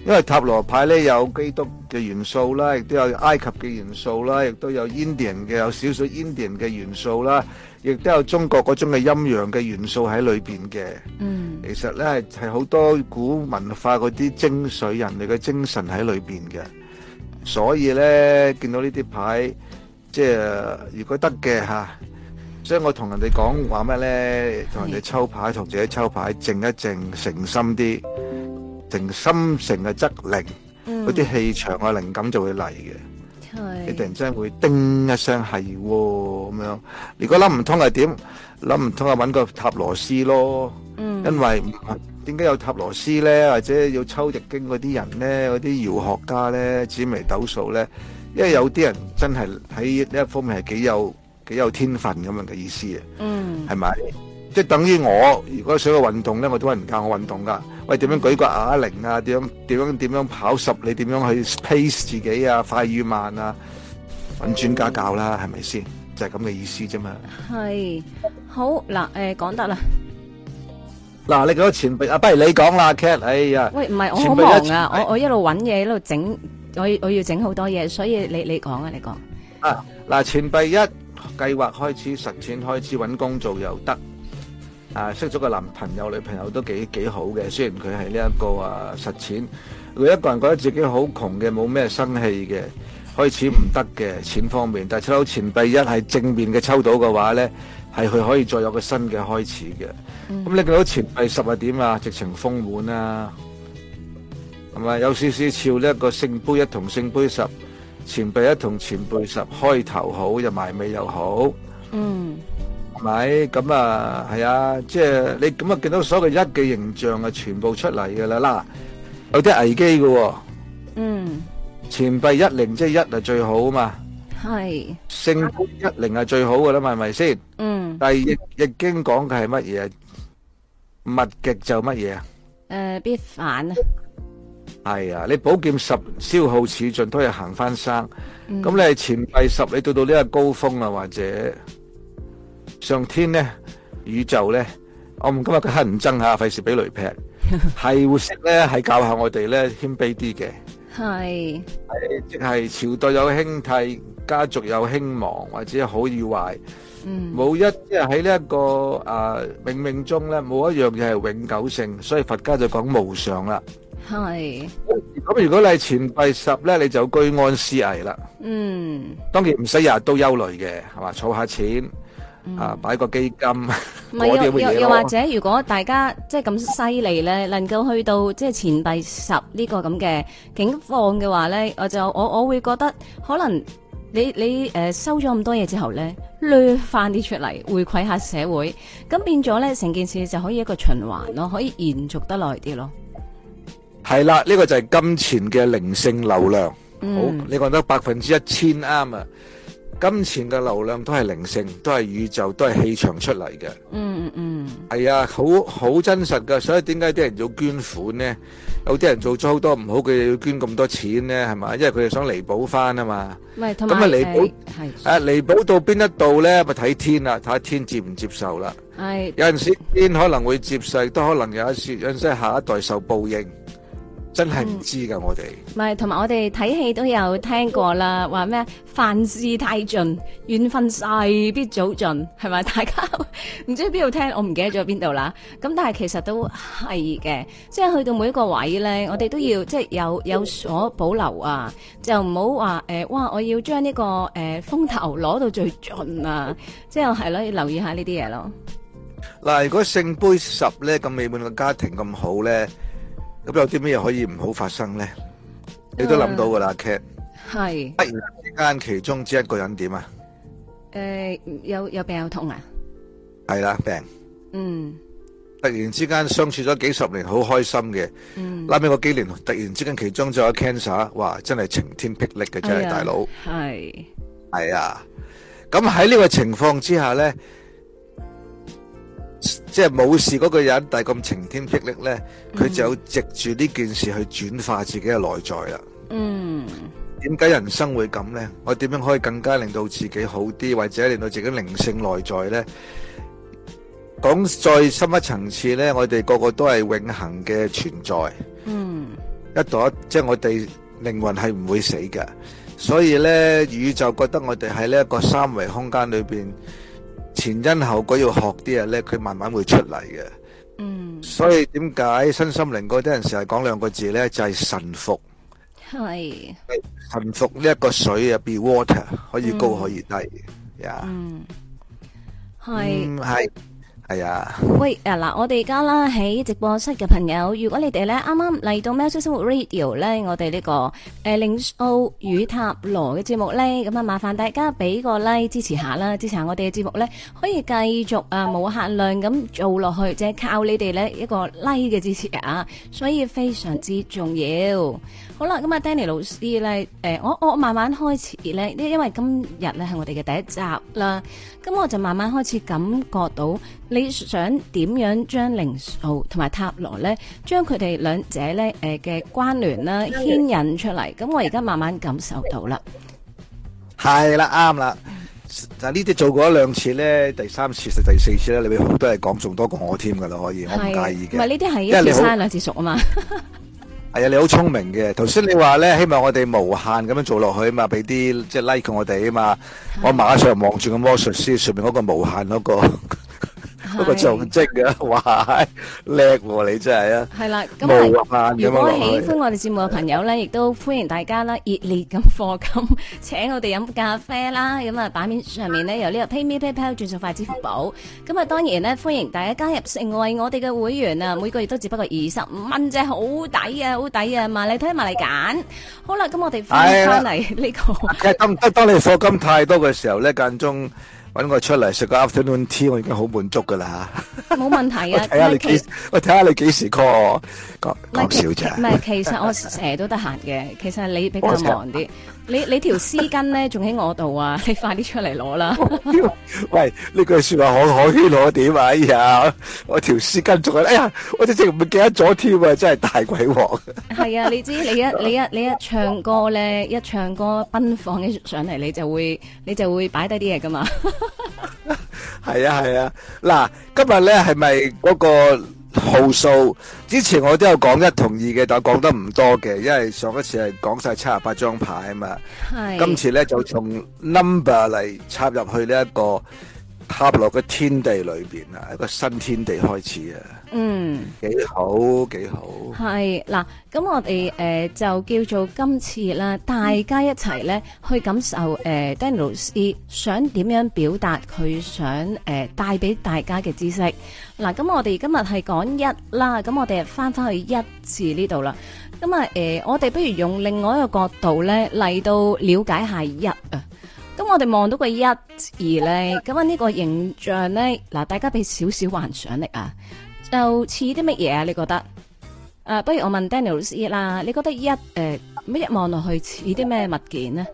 因為塔羅牌咧有基督嘅元素啦，亦都有埃及嘅元素啦，亦都有 Indian 嘅有少少 Indian 嘅元素啦，亦都有中國嗰種嘅陰陽嘅元素喺裏邊嘅。其實咧係好多古文化嗰啲精髓、人類嘅精神喺裏邊嘅。所以咧見到呢啲牌，即係如果得嘅嚇，所以我同人哋講話咩咧？同人哋抽牌，同自己抽牌，靜一靜，誠心啲。誠心誠嘅則靈，嗰啲氣場啊靈感就會嚟嘅。你突然之間會叮一聲係咁樣。如果諗唔通係點？諗唔通啊，揾個塔羅師咯。因為點解有塔羅師咧，或者要抽易經嗰啲人咧，嗰啲遙學家咧，紫微斗數咧？因為有啲人真係喺呢一方面係幾有天分咁樣嘅意思啊。係咪？即係等於我如果想去運動咧，我都揾人教我運動噶。喂，點樣舉個啞鈴啊？點樣跑10里？點樣去 pace 自己啊？快與慢啊？揾專家教啦，係咪先？就係咁嘅意思啫嘛。係好嗱，講得啦。 嗱，你嗰個前輩啊，不如你講啦 ，Cat。哎呀， 喂，唔係我好忙啊，我一路揾嘢，一路整，我要整好多嘢，所以你講啊，你講。 啊，嗱，前輩一計劃開始實踐，開始揾工做又得。識咗個男朋友女朋友都幾好嘅，雖然佢係呢一個實踐，佢一個人覺得自己好窮嘅，冇咩生氣嘅，開始唔得嘅錢方面，但係抽到錢幣一係正面嘅抽到嘅話呢，係佢可以再有個新嘅開始嘅。咁你見到錢幣10係點啊？直情豐滿啊，係咪有少少似呢一個聖杯1同聖杯10，錢幣1同錢幣10開頭好又埋尾又好。係咪咁啊？係啊，即係你咁啊，見到所有嘅一嘅形象啊，全部出嚟嘅啦。嗱，有啲危機嘅。錢幣10即係1係最好啊嘛。係。聖杯10係最好嘅啦嘛，係咪先？但係易經講嘅係乜嘢？物極就乜嘢啊？ 必反啊。 係啊，你寶劍10消耗似盡都係行翻生。咁你係錢幣10，你到呢個高峰啊，或者？上天咧，宇宙咧，我唔今日佢乞人憎下，費事俾雷劈，係會識咧，係教下我哋咧謙卑啲嘅，係即係朝代有興替，家族有興亡，或者好與壞，冇一即係喺呢一個冥冥中咧，冇一樣嘢係永久性，所以佛家就講無常啦。係咁，如果你係錢幣10咧，你就居安思危啦。當然唔使日日都憂慮嘅，係嘛，儲下錢。擺個基金， 唔係又或者，如果大家即係咁犀利咧，能夠去到即係錢幣10呢個咁嘅境況嘅話咧，我會覺得可能你收咗咁多嘢之後咧，掠翻啲出嚟回饋下社會，咁變咗咧成件事就可以一個循環咯，可以延續得耐啲咯。 係啦，呢個就係金錢嘅靈性流量。好，你講得1000%啱啊！金錢嘅流量都係靈性，都係宇宙，都係氣場出嚟嘅。係啊，好真實噶。所以點解啲人要捐款呢？有啲人做咗好多唔好嘅嘢，要捐咁多錢呢？係嘛？因為佢哋想彌補翻啊嘛。咁啊彌補彌補到邊一度咧？咪睇天啦，睇下天接唔接受啦。係有陣時天可能會接受，都可能有陣時下一代受報應。真係唔知噶，我哋唔係，同埋我哋睇戲都有聽過啦，話咩凡事太盡，緣分勢必早盡，係咪？大家唔知邊度聽，我唔記得咗邊度啦。咁但係其實都係嘅，即係去到每一個位咧，我哋都要即係有所保留啊，就唔好話哇，我要將呢個風頭攞到最盡啊，即係係咯，要留意下呢啲嘢咯。 嗱，如果聖杯10咧咁美滿嘅家庭咁好咧。咁有啲咩可以唔好發生咧？你都諗到噶啦 ，Cat。係。突然之間，其中之一個人點啊？ 有病有痛啊？ 係啦，病。突然之間相處咗幾十年，好開心嘅。拉尾嗰幾年，突然之間其中就有 cancer， 哇！真係晴天霹靂嘅，真係大佬。係。係啊。咁喺呢個情況之下咧。即係冇事嗰個人，但係咁晴天霹靂咧，佢就有藉住呢件事去轉化自己嘅內在啦。點解人生會咁咧？我點樣可以更加令到自己好啲，或者令到自己靈性內在咧？講再深一層次咧，我哋個個都係永恆嘅存在。 一朵，即係我哋靈魂係唔會死嘅。所以咧，宇宙覺得我哋喺呢一個三維空間裏邊，前因後果要學啲嘢咧，佢慢慢會出嚟嘅。所以點解身心靈嗰啲人成日講兩個字咧，就係臣服。 係臣服呢一個水啊，be water， 可以高可以低呀。係啊。 喂，嗱，我哋而家啦喺直播室嘅朋友，如果你哋咧啱啱嚟到喵式生活 Radio 咧，我哋呢個靈數與塔羅嘅節目咧，咁啊麻煩大家俾個 like 支持下啦，支持下我哋嘅節目咧，可以繼續無限量咁做落去，即係靠你哋咧一個 like 嘅支持啊，所以非常之重要。好啦，咁啊 Danny 老師咧，我慢慢開始咧，因為今日咧係我哋嘅第一集啦，咁我就慢慢開始感覺到你想點樣將靈數同埋塔羅咧，將佢哋兩者咧嘅關聯啦牽引出嚟，咁我而家慢慢感受到啦。 係啦，啱啦。但呢啲做過一兩次咧，第三次、第四次咧，你會好多嘢講，仲多過我添噶啦，可以，我唔介意嘅。 唔係呢啲係一次生兩次熟啊嘛。 係啊，你好聰明嘅。頭先你話咧，希望我哋無限咁樣做落去啊嘛，俾啲即係 like 我哋啊嘛。我馬上望住個魔術師上面嗰個無限嗰個嗰個象徵啊，哇，叻喎你真係啊！係啦，咁如果喜歡我哋節目嘅朋友咧，亦都歡迎大家啦，熱烈咁課金，請我哋飲咖啡啦。咁啊，版面上面咧有呢個 PayMe PayPal 轉數快支付寶。咁啊，當然咧歡迎大家加入成為我哋嘅會員啊，每個月都只不過25蚊啫，好抵啊，好抵啊！埋嚟睇埋嚟揀。好啦，咁我哋翻嚟呢個。 當你課金太多嘅時候咧，間中搵我出嚟食個 afternoon tea， 我已經好滿足噶啦吓。冇問題啊！ 我睇下你幾時 call 我，講笑啫。 唔係，其實我成日都得閒嘅。其實你比較忙啲。你條絲巾咧仲喺我度啊！你快啲出嚟攞啦！ 喂，呢句說話可圈可點啊！哎呀，我條絲巾仲係，哎呀，我直情唔記得咗添啊！真係大鬼鑊。係啊，你知你一唱歌咧，一唱歌奔放起上嚟，你就會擺低啲嘢噶嘛。 係啊，嗱，今日咧係咪嗰個號數？之前我都有講一同二嘅，但係講得唔多嘅，因為上一次係講晒78張牌啊嘛。係。今次咧就從 number 嚟插入去呢一個塔羅嘅天地裏邊啊，一個新天地開始啊。幾好。 係嗱，咁我哋就叫做今次啦，大家一齊咧去感受Danny 老師想點樣表達佢想帶俾大家嘅知識。嗱，咁我哋今日係講一啦，咁我哋翻去一字呢度啦。咁啊我哋不如用另外一個角度咧嚟到了解下一啊。咁我哋望到個一字咧，咁啊呢個形象咧，嗱，大家俾少少幻想力啊，就似啲乜嘢啊？你覺得？不如我問 Danny 老師啦，你覺得一望落去似啲咩物件呢？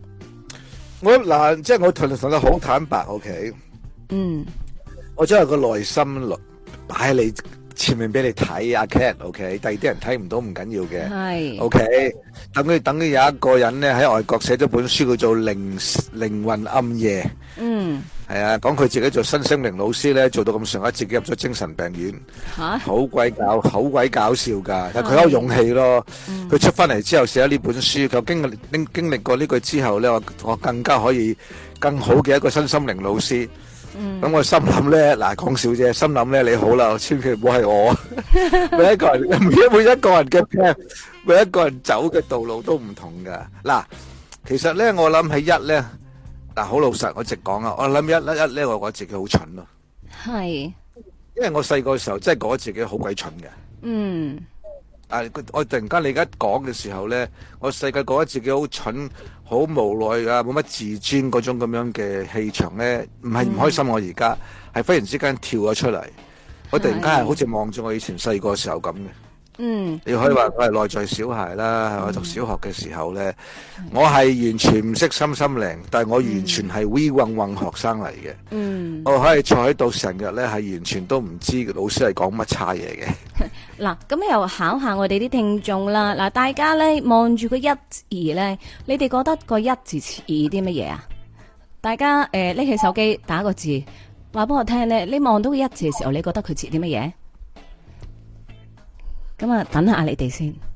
即係我同你好坦白 ，OK？我將個內心擺喺你前面俾你睇阿 Cat，OK？第二啲人睇唔到唔緊要嘅，係 OK？等於有一個人咧喺外國寫咗本書叫做靈魂暗夜，係啊，講佢自己做新生靈老師咧，做到咁上下，自己入咗精神病院，好鬼搞笑噶，但佢有勇氣咯。佢出翻嚟之後寫咗呢本書，佢經歷過呢句之後咧，我更加可以更好嘅一個新心靈老師。咁我心諗咧，嗱，講笑啫，心諗咧，你好啦，千祈唔好係我。每一個人嘅 plan， 每一個人走嘅道路都唔同噶。嗱，其實咧，我諗起一咧，嗱，好老實，我直講啊，我諗一咧，我覺得自己好蠢咯。係，因為我細個嘅時候真係覺得自己好鬼蠢嘅。我突然間你而家講嘅時候咧，我細個覺得自己好蠢，好無奈啊，冇乜自尊嗰種咁樣嘅氣場咧，唔係唔開心。我而家係忽然之間跳咗出嚟，我突然間係好似望住我以前細個時候咁嘅。你可以話我係內在小孩啦。我讀小學嘅時候咧，我係完全唔識心靈，但係我完全係 we 混學生嚟嘅。我可以坐喺度成日咧，係完全都唔知老師係講乜差嘢嘅。 嗱，咁又考下我哋啲聽眾啦。嗱，大家咧望住個一字咧，你哋覺得個一字似啲乜嘢啊？大家拎起手機打個字，話俾我聽咧。你望到個一字嘅時候，你覺得佢似啲乜嘢？咁啊，等下你哋先。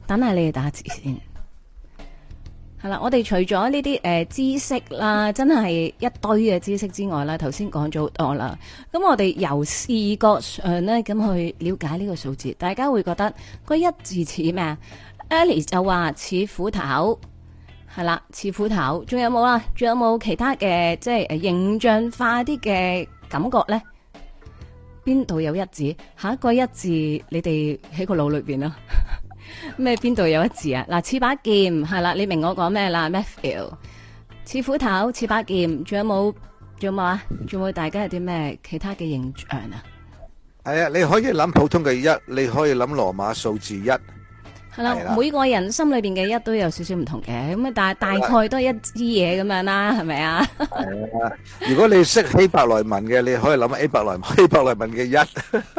等下你哋打字先。係啦，我哋除咗呢啲知識啦，真係一堆嘅知識之外啦，頭先講咗好多啦。咁我哋由視覺上咧咁去了解呢個數字，大家會覺得個一字似咩啊 ？Alice 就話似斧頭，係啦，似斧頭。仲有冇啊？仲有冇其他嘅即係形象化啲嘅感覺咧？邊度有一字？下一個一字，你哋喺個腦裏邊啦。咩邊度有一字啊？嗱，似把劍係啦，你明我講咩啦 ？Matthew 似斧頭，似把劍，仲有冇？仲有冇啊？仲有冇大家有啲咩其他嘅形象啊？ 係啊，你可以諗普通嘅一，你可以諗羅馬數字一。 係啦，每個人心裏邊嘅一都有少少唔同嘅，咁啊，但係大概都係一支嘢咁樣啦，係咪啊？ 係啊，如果你識希伯來文嘅，你可以諗希伯來文嘅一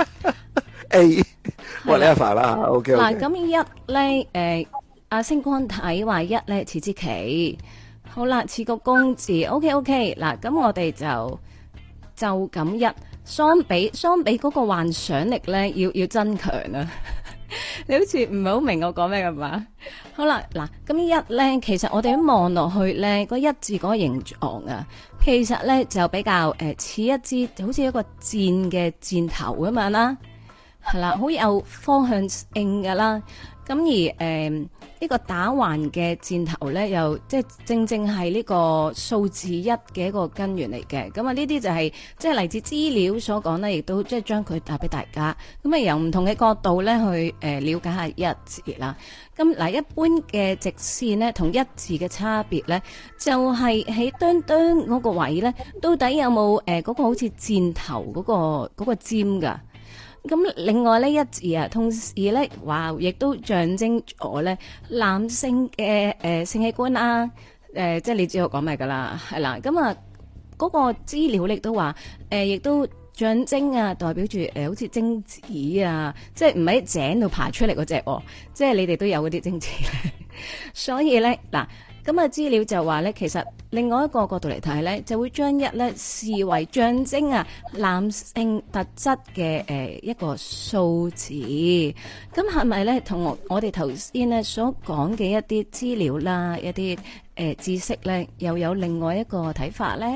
A。whatever 啦 ，OK。 嗱，咁一咧，阿星光睇話一咧似支旗，好啦，似個公字，OK。嗱，咁我哋就咁一相比嗰個幻想力咧，要增強啊！你好似唔係好明我講咩㗎嘛？好啦，嗱，咁一咧，其實我哋一望落去咧，嗰一字嗰個形狀啊，其實咧就比較似一支好似一個箭嘅箭頭咁樣啦。係啦，好有方向性噶啦。咁而呢個打橫嘅箭頭咧，又即係正係呢個數字一嘅一個根源嚟嘅。咁啊，呢啲就係即係嚟自資料所講咧，亦都即係將佢帶俾大家。咁啊，由唔同嘅角度咧去了解下一字啦。咁嗱，一般嘅直線咧，同一字嘅差別咧，就係喺端嗰個位咧，到底有冇嗰個好似箭頭嗰個尖噶？咁另外呢一字啊，同時咧話亦都象徵咗咧男性嘅性器官啦，即係你知我講咩噶啦，係啦。咁啊，嗰個資料亦都話亦都象徵啊，代表住好似精子啊，即係唔喺井度爬出嚟嗰隻，即係你哋都有嗰啲精子咧。所以咧嗱。咁啊，資料就話咧，其實另外一個角度嚟睇咧，就會將一咧視為象徵啊男性特質嘅一個數字。咁係咪咧同我哋頭先咧所講嘅一啲資料啦，一啲知識咧，又有另外一個睇法咧？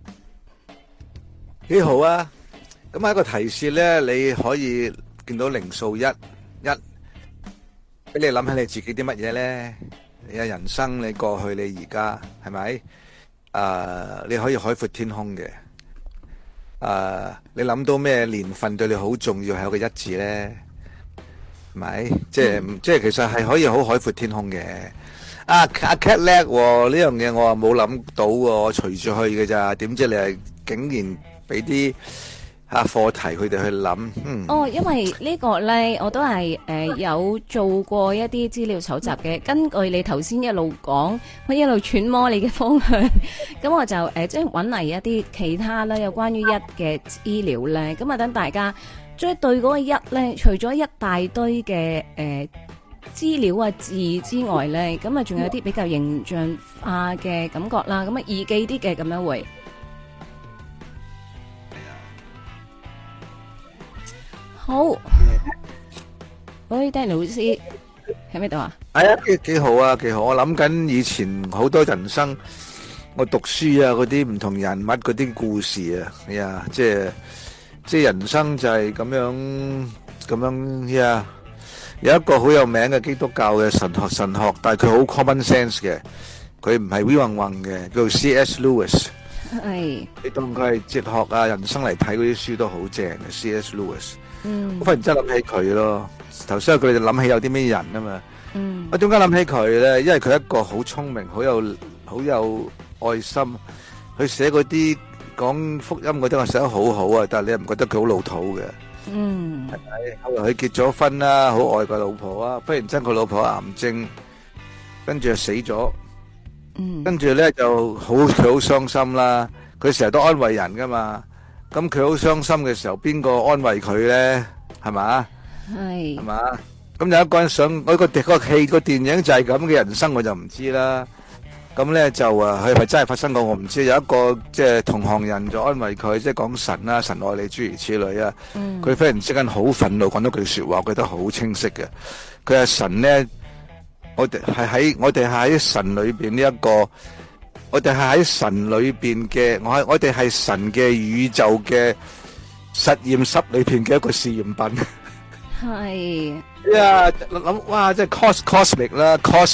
幾好啊！咁喺個提示咧，你可以見到零數一，俾你諗起你自己啲乜嘢咧？你嘅人生，你過去，你而家係咪？你可以海闊天空嘅。你諗到咩年份對你好重要，係有個一字咧？係咪？即係其實係可以好海闊天空嘅。阿 Cat 叻喎，呢樣嘢我冇諗到喎，我隨住去嘅咋？點知你係竟然俾啲課題佢哋去諗。 因為呢個咧，我都係有做過一啲資料搜集嘅。根據你頭先一路講，我一路揣摩你嘅方向，咁我就即係揾嚟一啲其他啦，有關於一嘅資料咧。咁啊，等大家即係對嗰個一咧，除咗一大堆嘅資料啊字之外咧，咁啊仲有啲比較形象化嘅感覺啦。咁啊易記啲嘅咁樣會。好，喂，Danny老師喺邊度啊？ 係啊，幾好啊，幾好！我諗緊以前好多人生，我讀書啊，嗰啲唔同人物嗰啲故事啊，係啊，即係人生就係咁樣呀。有一個好有名嘅基督教嘅神學，但係佢好 common sense 嘅，佢唔係 we 混嘅，叫做 C.S. Lewis。係，你當佢係哲學啊、人生嚟睇嗰啲書都好正嘅 C.S. Lewis。我忽然之間諗起佢咯，頭先佢哋諗起有啲咩人啊嘛。我點解諗起佢咧？因為佢一個好聰明、好有愛心，佢寫嗰啲講福音嗰啲，我寫得好好啊。但係你又唔覺得佢好老土嘅？係咪？後來佢結咗婚啦，好愛個老婆啊。忽然之間佢老婆癌症，跟住就死咗。跟住咧就佢好傷心啦。佢成日都安慰人噶嘛。咁佢好傷心嘅時候，邊個安慰佢咧？係嘛？係嘛？咁有一個人想嗰個戲個電影就係咁嘅人生，我就唔知啦。咁咧就佢係咪真係發生過？我唔知。有一個即係同行人就安慰佢，即係講神啦，神愛你諸如此類啊。佢忽然之間好憤怒，講咗句說話，我覺得好清晰嘅。佢係神咧我哋係喺神裏邊呢一個，我哋係喺神裏邊嘅，我哋係神嘅宇宙嘅實驗室裏邊嘅一個試驗品。 係呀，諗哇，即係 cosmic 啦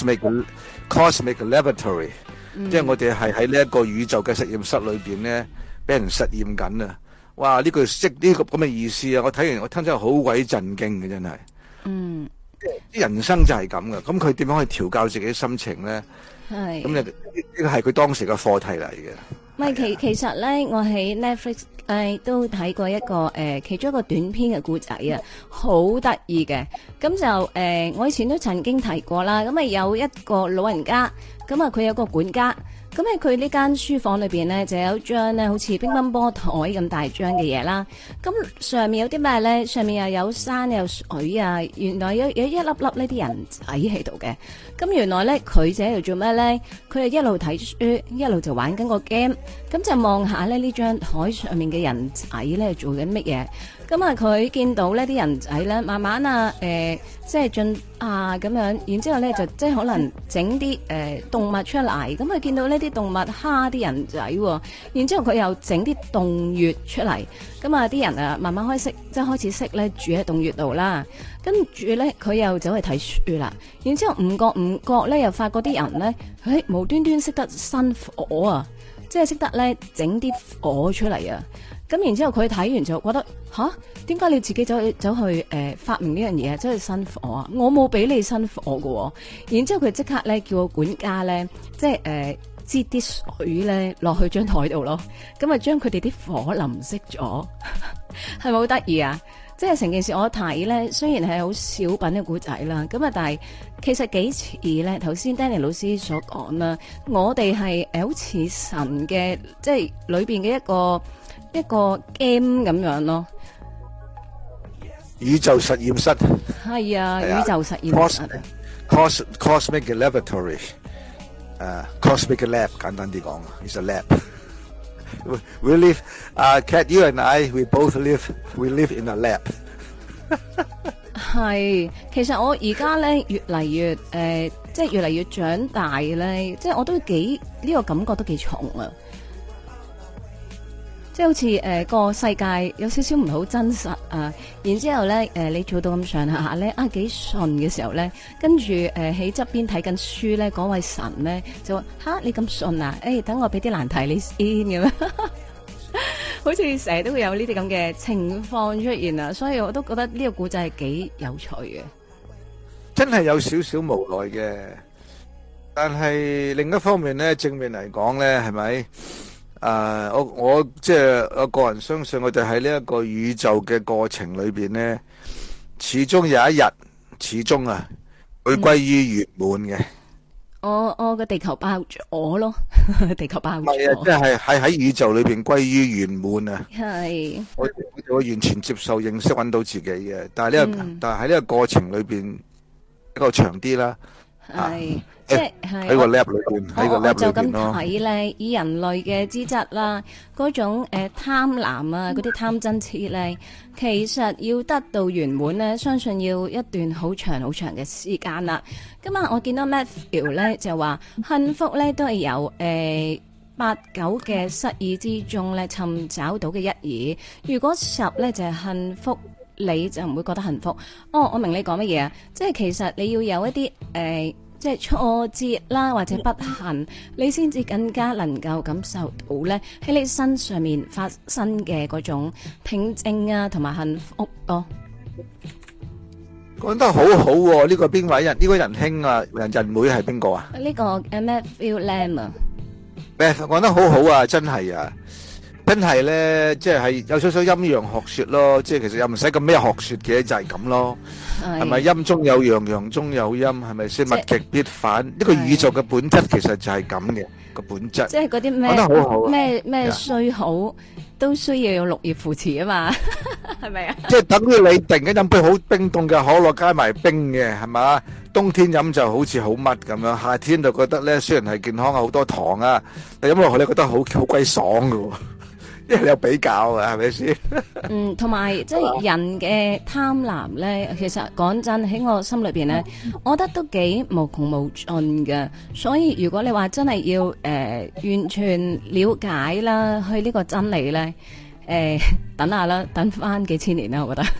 ，cosmic laboratory，即係我哋係喺呢一個宇宙嘅實驗室裏邊咧，俾人實驗緊啊！哇，呢句識呢個咁嘅意思啊！我睇完我聽真係好鬼震驚嘅，真係。 嗯， 啲人生就係咁噶，咁佢點樣去調教自己心情咧？ 係咁呢個係佢當時嘅課題嚟嘅。 唔係其實咧，我喺 Netflix 都睇過一個其中一個短篇嘅故仔啊，好得意嘅。咁就我以前都曾經提過啦。咁啊有一個老人家，咁啊佢有個管家，咁喺佢呢間書房裏邊咧就有張咧好似乒乓波台咁大張嘅嘢啦。咁上面有啲咩咧？上面又有山有水啊，原來有一粒粒呢啲人仔喺度嘅。咁原來咧佢就喺度做咩咧？佢係一路睇書，一路就玩緊個 game。咁就望下咧呢張台上面嘅人仔咧做緊乜嘢？咁啊佢見到呢啲人仔咧慢慢啊即係進啊咁樣，然之後咧就即係可能整啲動物出嚟。咁佢見到呢啲動物蝦啲人仔，然之後佢又整啲洞穴出嚟。咁啊啲人啊慢慢即係開始識咧住喺洞穴度啦。跟住咧佢又走去睇書啦。然之後唔覺咧又發覺啲人咧，無端端識得生火啊！即係識得咧整啲火出嚟啊！咁然之後佢睇完就覺得吓，點解你自己走去發明呢樣嘢，走去生火啊？我冇俾你生火噶。然之後佢即刻咧叫個管家咧，即係擠啲水咧落去張台度咯。咁啊將佢哋啲火淋熄咗，係咪好得意啊？即係成件事我睇咧，雖然係好小品嘅故仔啦，咁啊，但係其實幾似咧。頭先 Danny 老師所講啦，我哋係好似神嘅，即係裏邊嘅一個 game 咁樣咯。 宇宙實驗室係啊，宇宙實驗室。 Cosmic laboratory， cosmic lab 簡單啲講 ，is a lab。We live, Cat, you and I, we live in a lab。 係，其實我而家咧越嚟越即係越嚟越長大咧，即係我都呢個感覺都幾重啊！即係好似個世界有少少唔係好真實啊，然之後咧你做到咁上下咧幾順嘅時候咧，跟住喺側邊睇緊書咧，嗰位神咧就話吓你咁順啊？等我俾啲難題你先咁樣，好似成日都會有呢啲咁嘅情況出現啊，所以我都覺得呢個故仔係幾有趣嘅， 真係有少少無奈嘅，但係另一方面咧，正面嚟講咧，係咪？我即係我個人相信，我哋喺呢一個宇宙嘅過程裏邊咧，始終有一日，始終會歸於圓滿嘅。 我個地球爆咗咯，地球爆咗。 係啊，即係喺宇宙裏邊歸於圓滿啊。 係。我完全接受認識揾到自己嘅，但係喺呢個過程裏邊比較長啲啦。係。即係喺個 lab 裏邊，喺個 lab 裏邊咯。我就咁睇咧，以人類嘅資質啦，嗰種貪婪啊，嗰啲貪嗔痴咧，其實要得到圓滿咧，相信要一段好長好長嘅時間啦。今日我見到 Matthew 咧就話，幸福咧都係由8、9嘅失意之中咧尋找到嘅一二。如果10咧就係幸福，你就唔會覺得幸福。哦，我明你講乜嘢啊？即係其實你要有一啲即係挫折啦，或者不幸，你先至更加能夠感受到咧喺你身上面發生嘅嗰種平靜啊，同埋幸福咯。 講得好好喎，呢個邊位人？呢個仁兄啊，人妹係邊個啊？ 呢個 Matthew Lam 啊， 講得好好啊，真係啊！真係咧，即係有少少陰陽學說咯，即係其實又唔使咁咩學說嘅，就係咁咯。係咪陰中有陽，陽中有陰？係咪先？物極必反，呢個宇宙嘅本質其實就係咁嘅個本質。即係嗰啲咩？講得好好。 咩衰好都需要有綠葉扶持啊嘛，係咪啊？ 即係等於你突然間飲杯好冰凍嘅可樂加埋冰嘅，係嘛？冬天飲就好似好乜咁樣，夏天就覺得咧雖然係健康啊好多糖啊，但飲落去你覺得好鬼爽噶。 因為你有比較啊，係咪先？ 同埋即係人嘅貪婪咧，其實講真喺我心裏邊咧，我覺得都幾無窮無盡嘅。所以如果你話真係要完全了解啦，去呢個真理咧，等下啦，等翻幾千年啦，我覺得。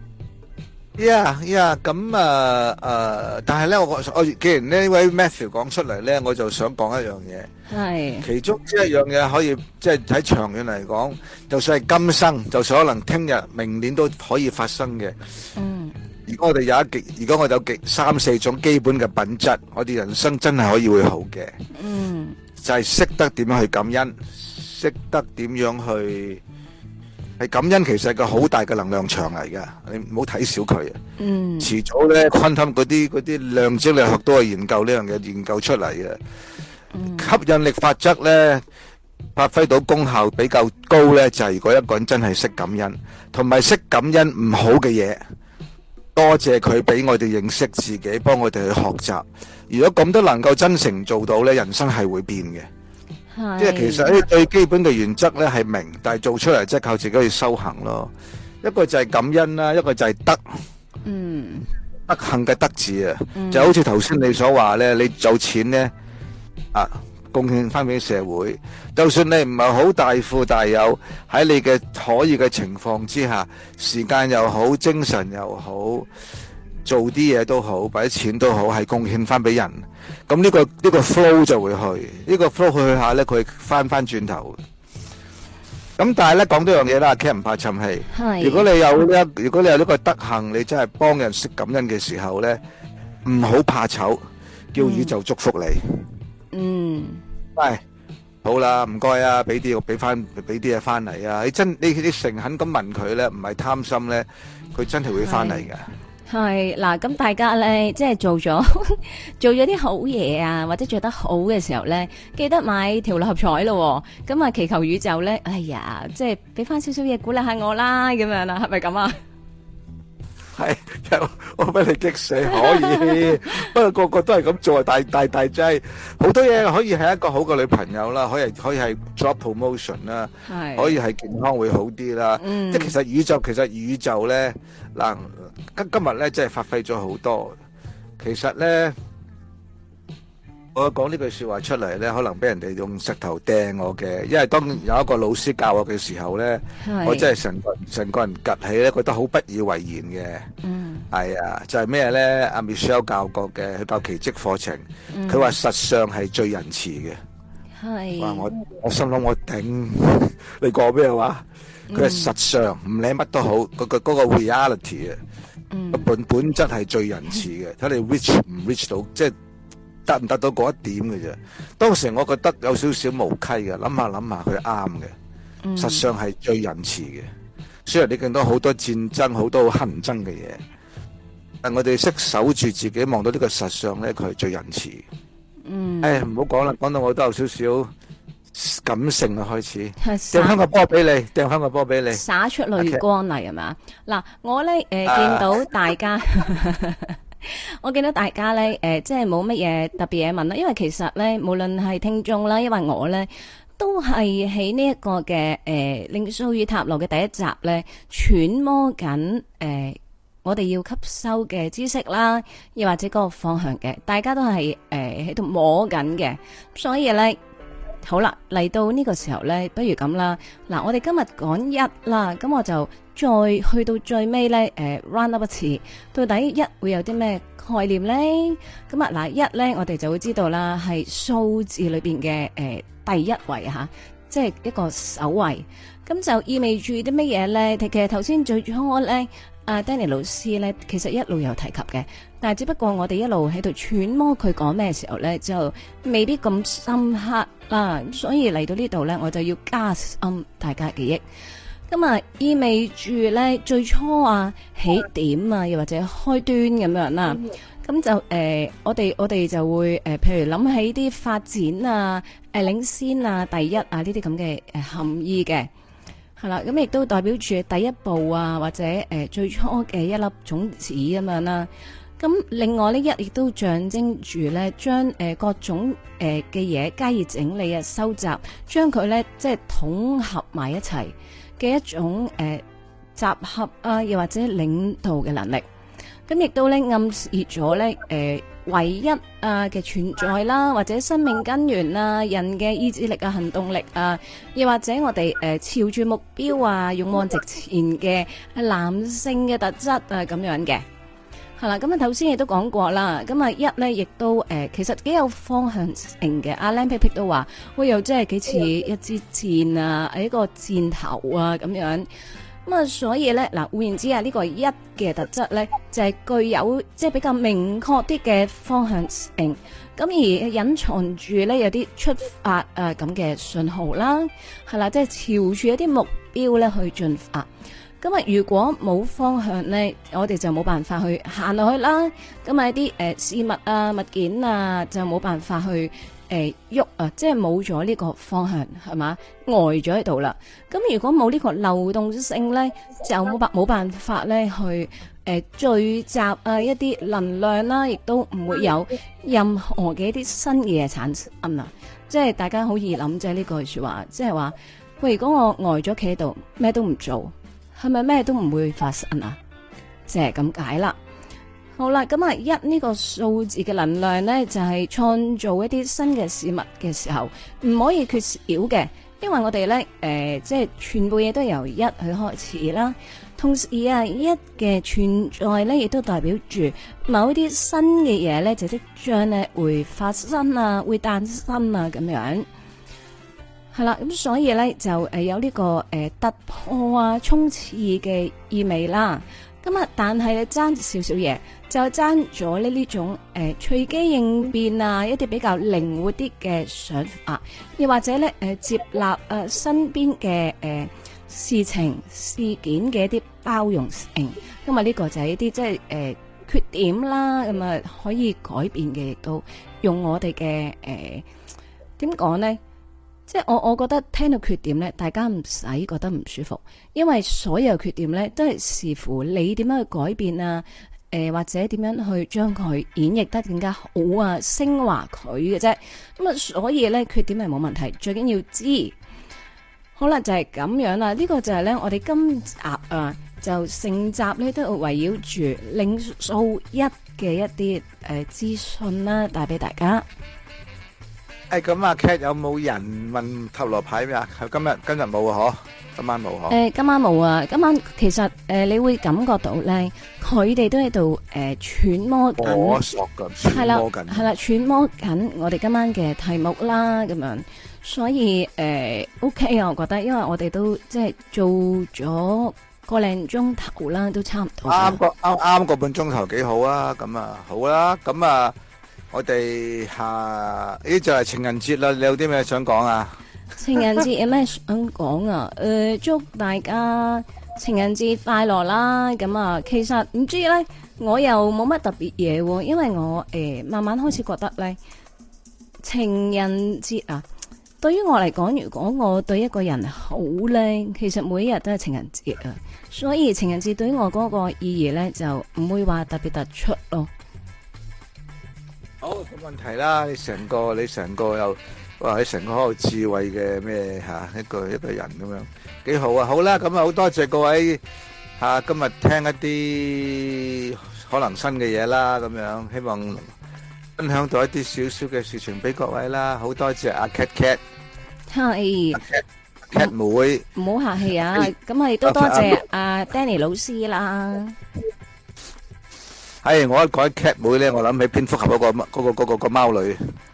咁但係咧，我既然呢位 Matthew 講出嚟咧，我就想講一樣嘢。 係其中一樣嘢可以即係喺長遠嚟講，就算係今生，就算可能聽日、明年都可以發生嘅。如果我哋有三四種基本嘅品質，我哋人生真係可以會好嘅。就係識得點樣去感恩，識得點樣去。係感恩，其實係個好大嘅能量場嚟噶，你唔好睇小佢啊。遲早咧，昆汀嗰啲量子力學都係研究呢樣嘢，研究出嚟嘅。吸引力法則咧，發揮到功效比較高咧，就係如果一個人真係識感恩，同埋識感恩唔好嘅嘢，多謝佢俾我哋認識自己，幫我哋去學習。如果咁都能夠真誠做到咧，人生係會變嘅。即係其實呢最基本嘅原則咧係明，但係做出嚟即係靠自己去修行咯。一個就係感恩啦，一個就係德。德行嘅德字啊，就好似頭先你所話咧，你有錢咧貢獻翻俾社會，就算你唔係好大富大有，喺你嘅可以嘅情況之下，時間又好，精神又好，做啲嘢都好，或者錢都好，係貢獻翻俾人。咁呢個 flow 就會去，呢個 flow 去下咧，佢翻轉頭。咁但係咧講多樣嘢啦，Ken 唔怕沉氣。如果你有呢個德行，你真係幫人識感恩嘅時候咧，唔好怕醜，叫宇宙祝福你。喂，好啦，唔該啊，俾啲嘢翻嚟啊！你誠懇咁問佢咧，唔係貪心咧，佢真係會翻嚟嘅。 係嗱，咁大家咧，即係做咗啲好嘢啊，或者做得好嘅時候咧，記得買條六合彩咯。咁啊，祈求宇宙咧，哎呀，即係俾翻少少嘢鼓勵下我啦，咁樣啦，係咪咁啊？ 係，我俾你激死，可以。不過個個都係咁做，大劑。好多嘢可以係一個好嘅女朋友啦，可以係 job promotion 啦，可以係健康會好啲啦。即係其實宇宙咧，嗱，今日咧真係發揮咗好多。其實咧，我講呢句說話出嚟咧，可能俾人哋用石頭掟我嘅，因為當有一個老師教我嘅時候咧，我真係成個人趌起咧，覺得好不以為然嘅。係啊，就係咩咧？阿 Michelle 教過嘅，佢教奇蹟課程，佢話實相係最仁慈嘅。係，哇！我心諗我頂，你講咩話？佢係實相，唔理乜都好，嗰個 reality 啊，本質係最仁慈嘅。睇你 reach 唔 reach 到，即係得唔得到嗰一點嘅啫。當時我覺得有少少無稽嘅，諗下佢啱嘅，實相係最仁慈嘅。雖然你見到好多戰爭，好多好乞人憎嘅嘢，但我哋識守住自己，望到呢個實相咧，佢係最仁慈。唔好講啦，講到我都有少少感性啊，開始掟翻個波俾你，灑出淚光嚟係嘛？嗱，我咧見到大家，我見到大家咧即係冇乜嘢特別嘢問啦，因為其實咧無論係聽眾啦，因為我咧都係喺呢一個嘅靈數與塔羅嘅第一集咧揣摩緊我哋要吸收嘅知識啦，又或者嗰個方向嘅，大家都係喺度摸緊嘅，所以咧好啦，嚟到呢個時候咧，不如咁啦，嗱，我哋今日講一啦，咁我就再去到最尾咧，round up 一次，到底一會有啲咩概念咧？咁啊，嗱，一咧我哋就會知道啦，係數字裏邊嘅第一位吓，即係一個首位，咁就意味住啲乜嘢咧？其實頭先最初咧。Danny 老師咧，其實一路有提及嘅，但係只不過我哋一路喺度揣摩佢講咩時候咧，就未必咁深刻啦。所以嚟到呢度咧，我就要加深大家記憶。咁啊，意味住咧最初起點又或者開端咁樣啦。咁就我哋就會譬如諗起啲發展領先第一呢啲咁嘅含義嘅。係啦，咁亦都代表住第一步或者最初嘅一粒種子咁樣啦。 咁另外呢，一亦都象徵住咧，將各種嘅嘢加以整理啊、收集，將佢咧即係統合埋一齊嘅一種集合啊，又或者領導嘅能力。咁亦都咧暗示咗咧唯一嘅存在啦，或者生命根源啊，人嘅意志力啊、行動力啊，又或者我哋朝住目標啊、勇往直前嘅男性嘅特質啊咁樣嘅。係啦，咁啊頭先亦都講過啦，咁啊一咧亦都其實幾有方向性嘅。阿 Lam Pick 都話，喂又真係幾似一支箭啊，一個箭頭啊咁樣。咁啊，所以咧嗱，換言之啊，呢個一嘅特質咧就係具有即係比較明確啲嘅方向性，咁而隱藏住咧有啲出發咁嘅信號啦，係啦，即係朝住一啲目標咧去進發。咁啊，如果冇方向咧，我哋就冇辦法去行落去啦。咁啊，一啲事物啊、物件啊，就冇辦法去喐啊，即係冇咗呢個方向，係嘛，呆咗喺度啦。咁如果冇呢個流動性咧，就冇辦法咧去聚集啊一啲能量啦，亦都唔會有任何嘅一啲新嘅嘢產生啊。即係大家好易諗啫呢句說話，即係話喂，如果我呆咗企喺度，咩都唔做，係咪咩都唔會發生啊？即係咁解啦。好啦，咁啊一呢個數字嘅能量呢，就係創造一啲新嘅事物嘅時候，唔可以缺少嘅，因為我哋呢，即係全部嘢都由一去開始啦。同時啊，一嘅存在呢，亦都代表住某啲新嘅嘢呢，就即將呢會發生啊，會誕生啊，咁樣。係啦，咁所以咧就有呢個突破啊、衝刺嘅意味啦。咁啊，但係咧爭少少嘢，就爭咗呢種隨機應變啊，一啲比較靈活啲嘅想法，又或者咧接納身邊嘅事情事件嘅一啲包容性。咁啊，呢個就係一啲即係缺點啦。咁啊，可以改變嘅，亦都用我哋嘅點講呢？即係我覺得聽到缺點咧，大家唔使覺得唔舒服，因為所有缺點咧都係視乎你點樣去改變啊，或者點樣去將佢演繹得更加好啊，升華佢嘅啫。咁啊，所以咧缺點係冇問題，最緊要知。好啦，就係咁樣啦。呢個就係咧我哋今集啊，就成集咧都圍繞住靈數一嘅一啲資訊啦，帶俾大家。 咁啊 Cat 有冇人問塔羅牌咩啊？今日冇啊，嗬？今晚冇嗬？ 今晚冇啊！今晚其實你會感覺到咧，佢哋都喺度揣摩緊， 摸索緊，揣摩緊， 係啦，揣摩緊我哋今晚嘅題目啦，咁樣。所以OK 啊，我覺得，因為我哋都即係做咗個零鐘頭啦，都差唔多。 啱個半鐘頭幾好啊！咁啊，好啦，咁啊。我哋就係情人節啦，你有啲咩想講啊？ 情人節有咩想講啊？祝大家情人節快樂啦！咁啊，其實唔知咧，我又冇乜特別嘢喎，因為我慢慢開始覺得咧，情人節啊，對於我嚟講，如果我對一個人好咧，其實每一日都係情人節啊，所以情人節對於我嗰個意義咧，就唔會話特別突出咯。 好，冇問題啦！你成個又哇，你成個好有智慧嘅咩一個人咁樣，幾好啊！好啦，咁啊好多謝各位今日聽一啲可能新嘅嘢啦，咁樣希望分享到一啲少少嘅事情俾各位啦。好多謝阿 Cat， 係 Cat 妹， 唔好客氣啊！咁啊亦都多謝阿 Danny 老師啦。 我一講 Cat 妹咧，我諗起蝙蝠俠嗰個貓女。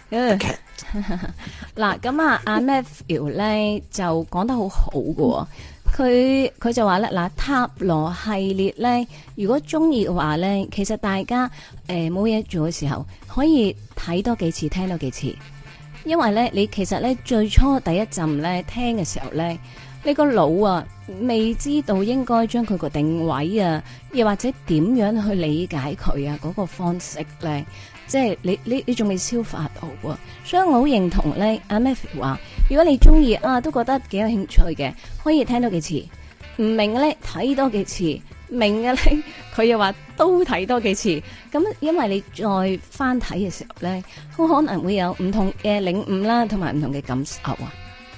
嗱，咁啊，阿 Matthew 咧就講得好好㗎喎，佢就話咧，嗱，塔羅系列咧，如果中意嘅話咧，其實大家冇嘢做嘅時候，可以睇多幾次，聽多幾次，因為咧，你其實咧最初第一陣咧聽嘅時候咧，你個腦啊未知道應該將佢個定位啊，又或者點樣去理解佢啊嗰個方式咧，即係你仲未消化到啊，所以我好認同咧阿 Matthew 話，如果你中意啊，都覺得幾有興趣嘅，可以聽多幾次，唔明嘅咧睇多幾次，明嘅咧佢又話都睇多幾次，咁因為你再翻睇嘅時候咧，好可能會有唔同嘅領悟啦，同埋唔同嘅感受啊。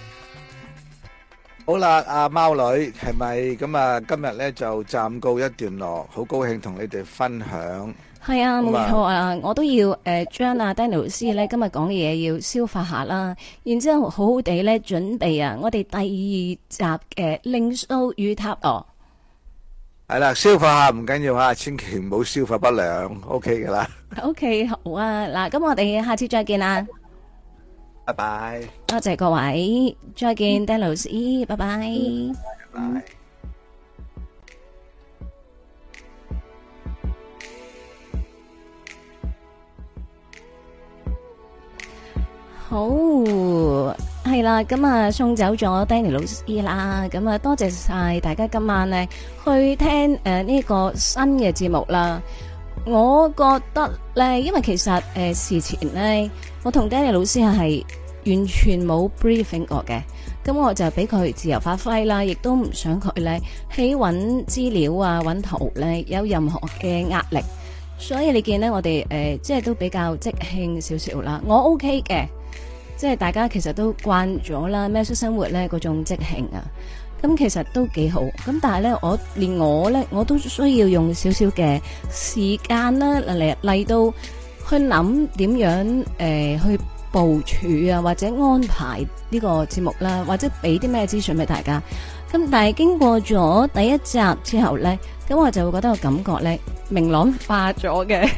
好啦，阿貓女係咪咁啊？今日咧就暫告一段落，好高興同你哋分享。 係啊，冇錯啊，我都要將阿 Danny 老師咧今日講嘅嘢要消化下啦，然之後好好地咧準備啊，我哋第二集嘅靈數與塔羅。 係啦，消化下唔緊要吓，千祈唔好消化不良，OK 噶啦。 OK， 好啊，嗱，咁我哋下次再見啦， 拜拜。 多謝各位，再見，Danny老師，拜拜。 拜拜。 好，係啦，咁啊送走咗 Danny 老師啦，咁啊多謝晒大家今晚呢去聽呢個新嘅節目啦。我覺得咧，因為其實事前呢，我同 Danny 老師係完全冇 briefing 過嘅，咁我就俾佢自由發揮啦，亦都唔想佢咧喺揾資料啊、揾圖咧有任何嘅壓力，所以你見呢，我哋即係都比較即興少少啦，我 OK 嘅。即係大家其實都慣咗啦，喵式生活咧嗰種即興啊，咁其實都幾好。咁但係咧，我都需要用少少嘅時間啦嚟到去諗點樣去部署啊，或者安排呢個節目啦，或者俾啲咩資訊俾大家。咁但係經過咗第一集之後咧，咁我就會覺得個感覺咧明朗化咗嘅。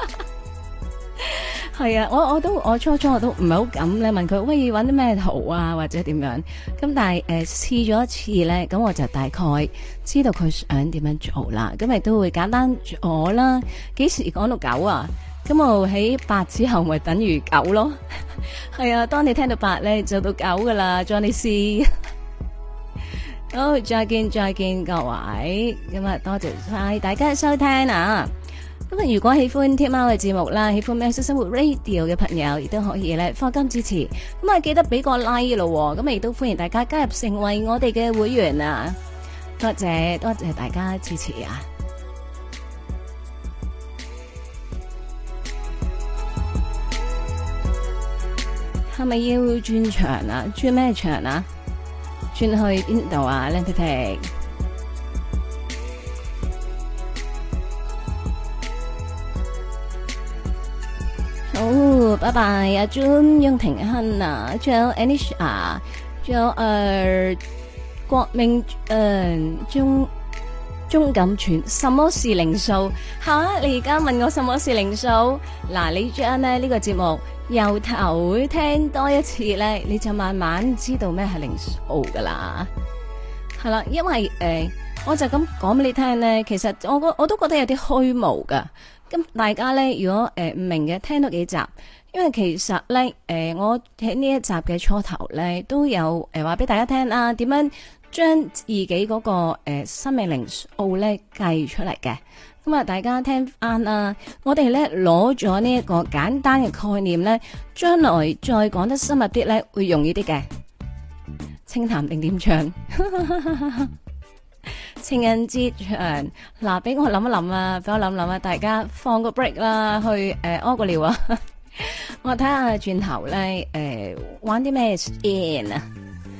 係啊，我初初我都唔係好敢咧問佢，喂，搵啲咩圖啊或者點樣，咁但係試咗一次咧，咁我就大概知道佢想點樣做啦，咁亦都會簡單咗啦。幾時講到9啊？咁我喺8之後咪等於9咯。係啊，當你聽到8咧就到9噶啦，Johnny C。好，再見各位，咁啊多謝晒大家收聽啊！咁啊，如果喜歡天喵嘅節目啦，喜歡喵式生活 Radio 嘅朋友，亦都可以咧課金支持。咁啊，記得俾個 like 咯，咁亦都歡迎大家加入成為我哋嘅會員啊！多謝大家支持啊！係咪要轉場啊？轉咩場啊？轉去邊度啊？靚皮皮。好，拜拜，阿 Jun、雍廷亨啊，仲有 Anisha， 仲有郭明鐘錦全，什麼是靈數？吓，你而家問我什麼是靈數？嗱，你將呢個節目由頭聽多一次咧，你就慢慢知道咩係靈數噶啦。係啦，因為我就咁講俾你聽咧，其實我都覺得有啲虛無噶。咁大家咧，如果唔明嘅，聽多幾集，因為其實咧，我喺呢一集嘅初頭咧，都有話俾大家聽啊，點樣將自己嗰個生命靈數咧計出嚟嘅。咁啊，大家聽翻啊，我哋咧攞咗呢一個簡單嘅概念咧，將來再講得深入啲咧，會容易啲嘅。清談定點唱？情人節場嗱，俾我諗一諗啊，俾我諗諗啊，大家放個 break 啦，去屙個尿啊！我睇下轉頭咧，玩啲咩先啊？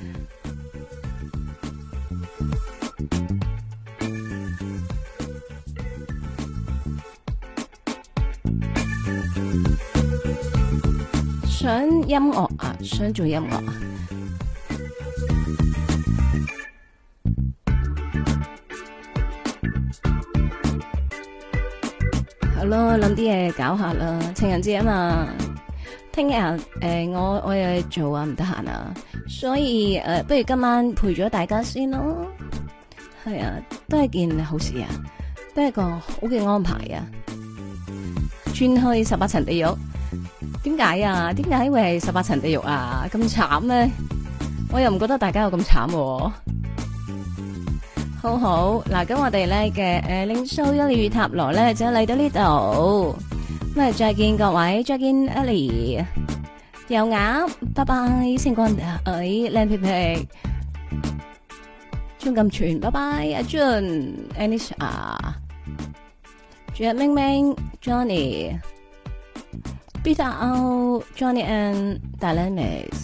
想音樂啊，想做音樂啊！好咯，諗啲嘢搞下啦，情人節啊嘛，聽日我有嘢做啊，唔得閒啊，所以不如今晚陪咗大家先咯，係啊，都係件好事啊，都係個好嘅安排啊。轉去18層地獄，點解啊？點解會係18層地獄啊？咁慘咩？我又唔覺得大家有咁慘喎。好好嗱，咁我哋咧嘅靈數一與塔羅咧就嚟到呢度，咁啊再見各位，再見 Ellie， 油鴨，拜拜，星光靚皮皮，鍾錦全，拜拜，阿 Jun，Anisha。 仲有明明 Johnny、Peter O、Johnny and Dynamics。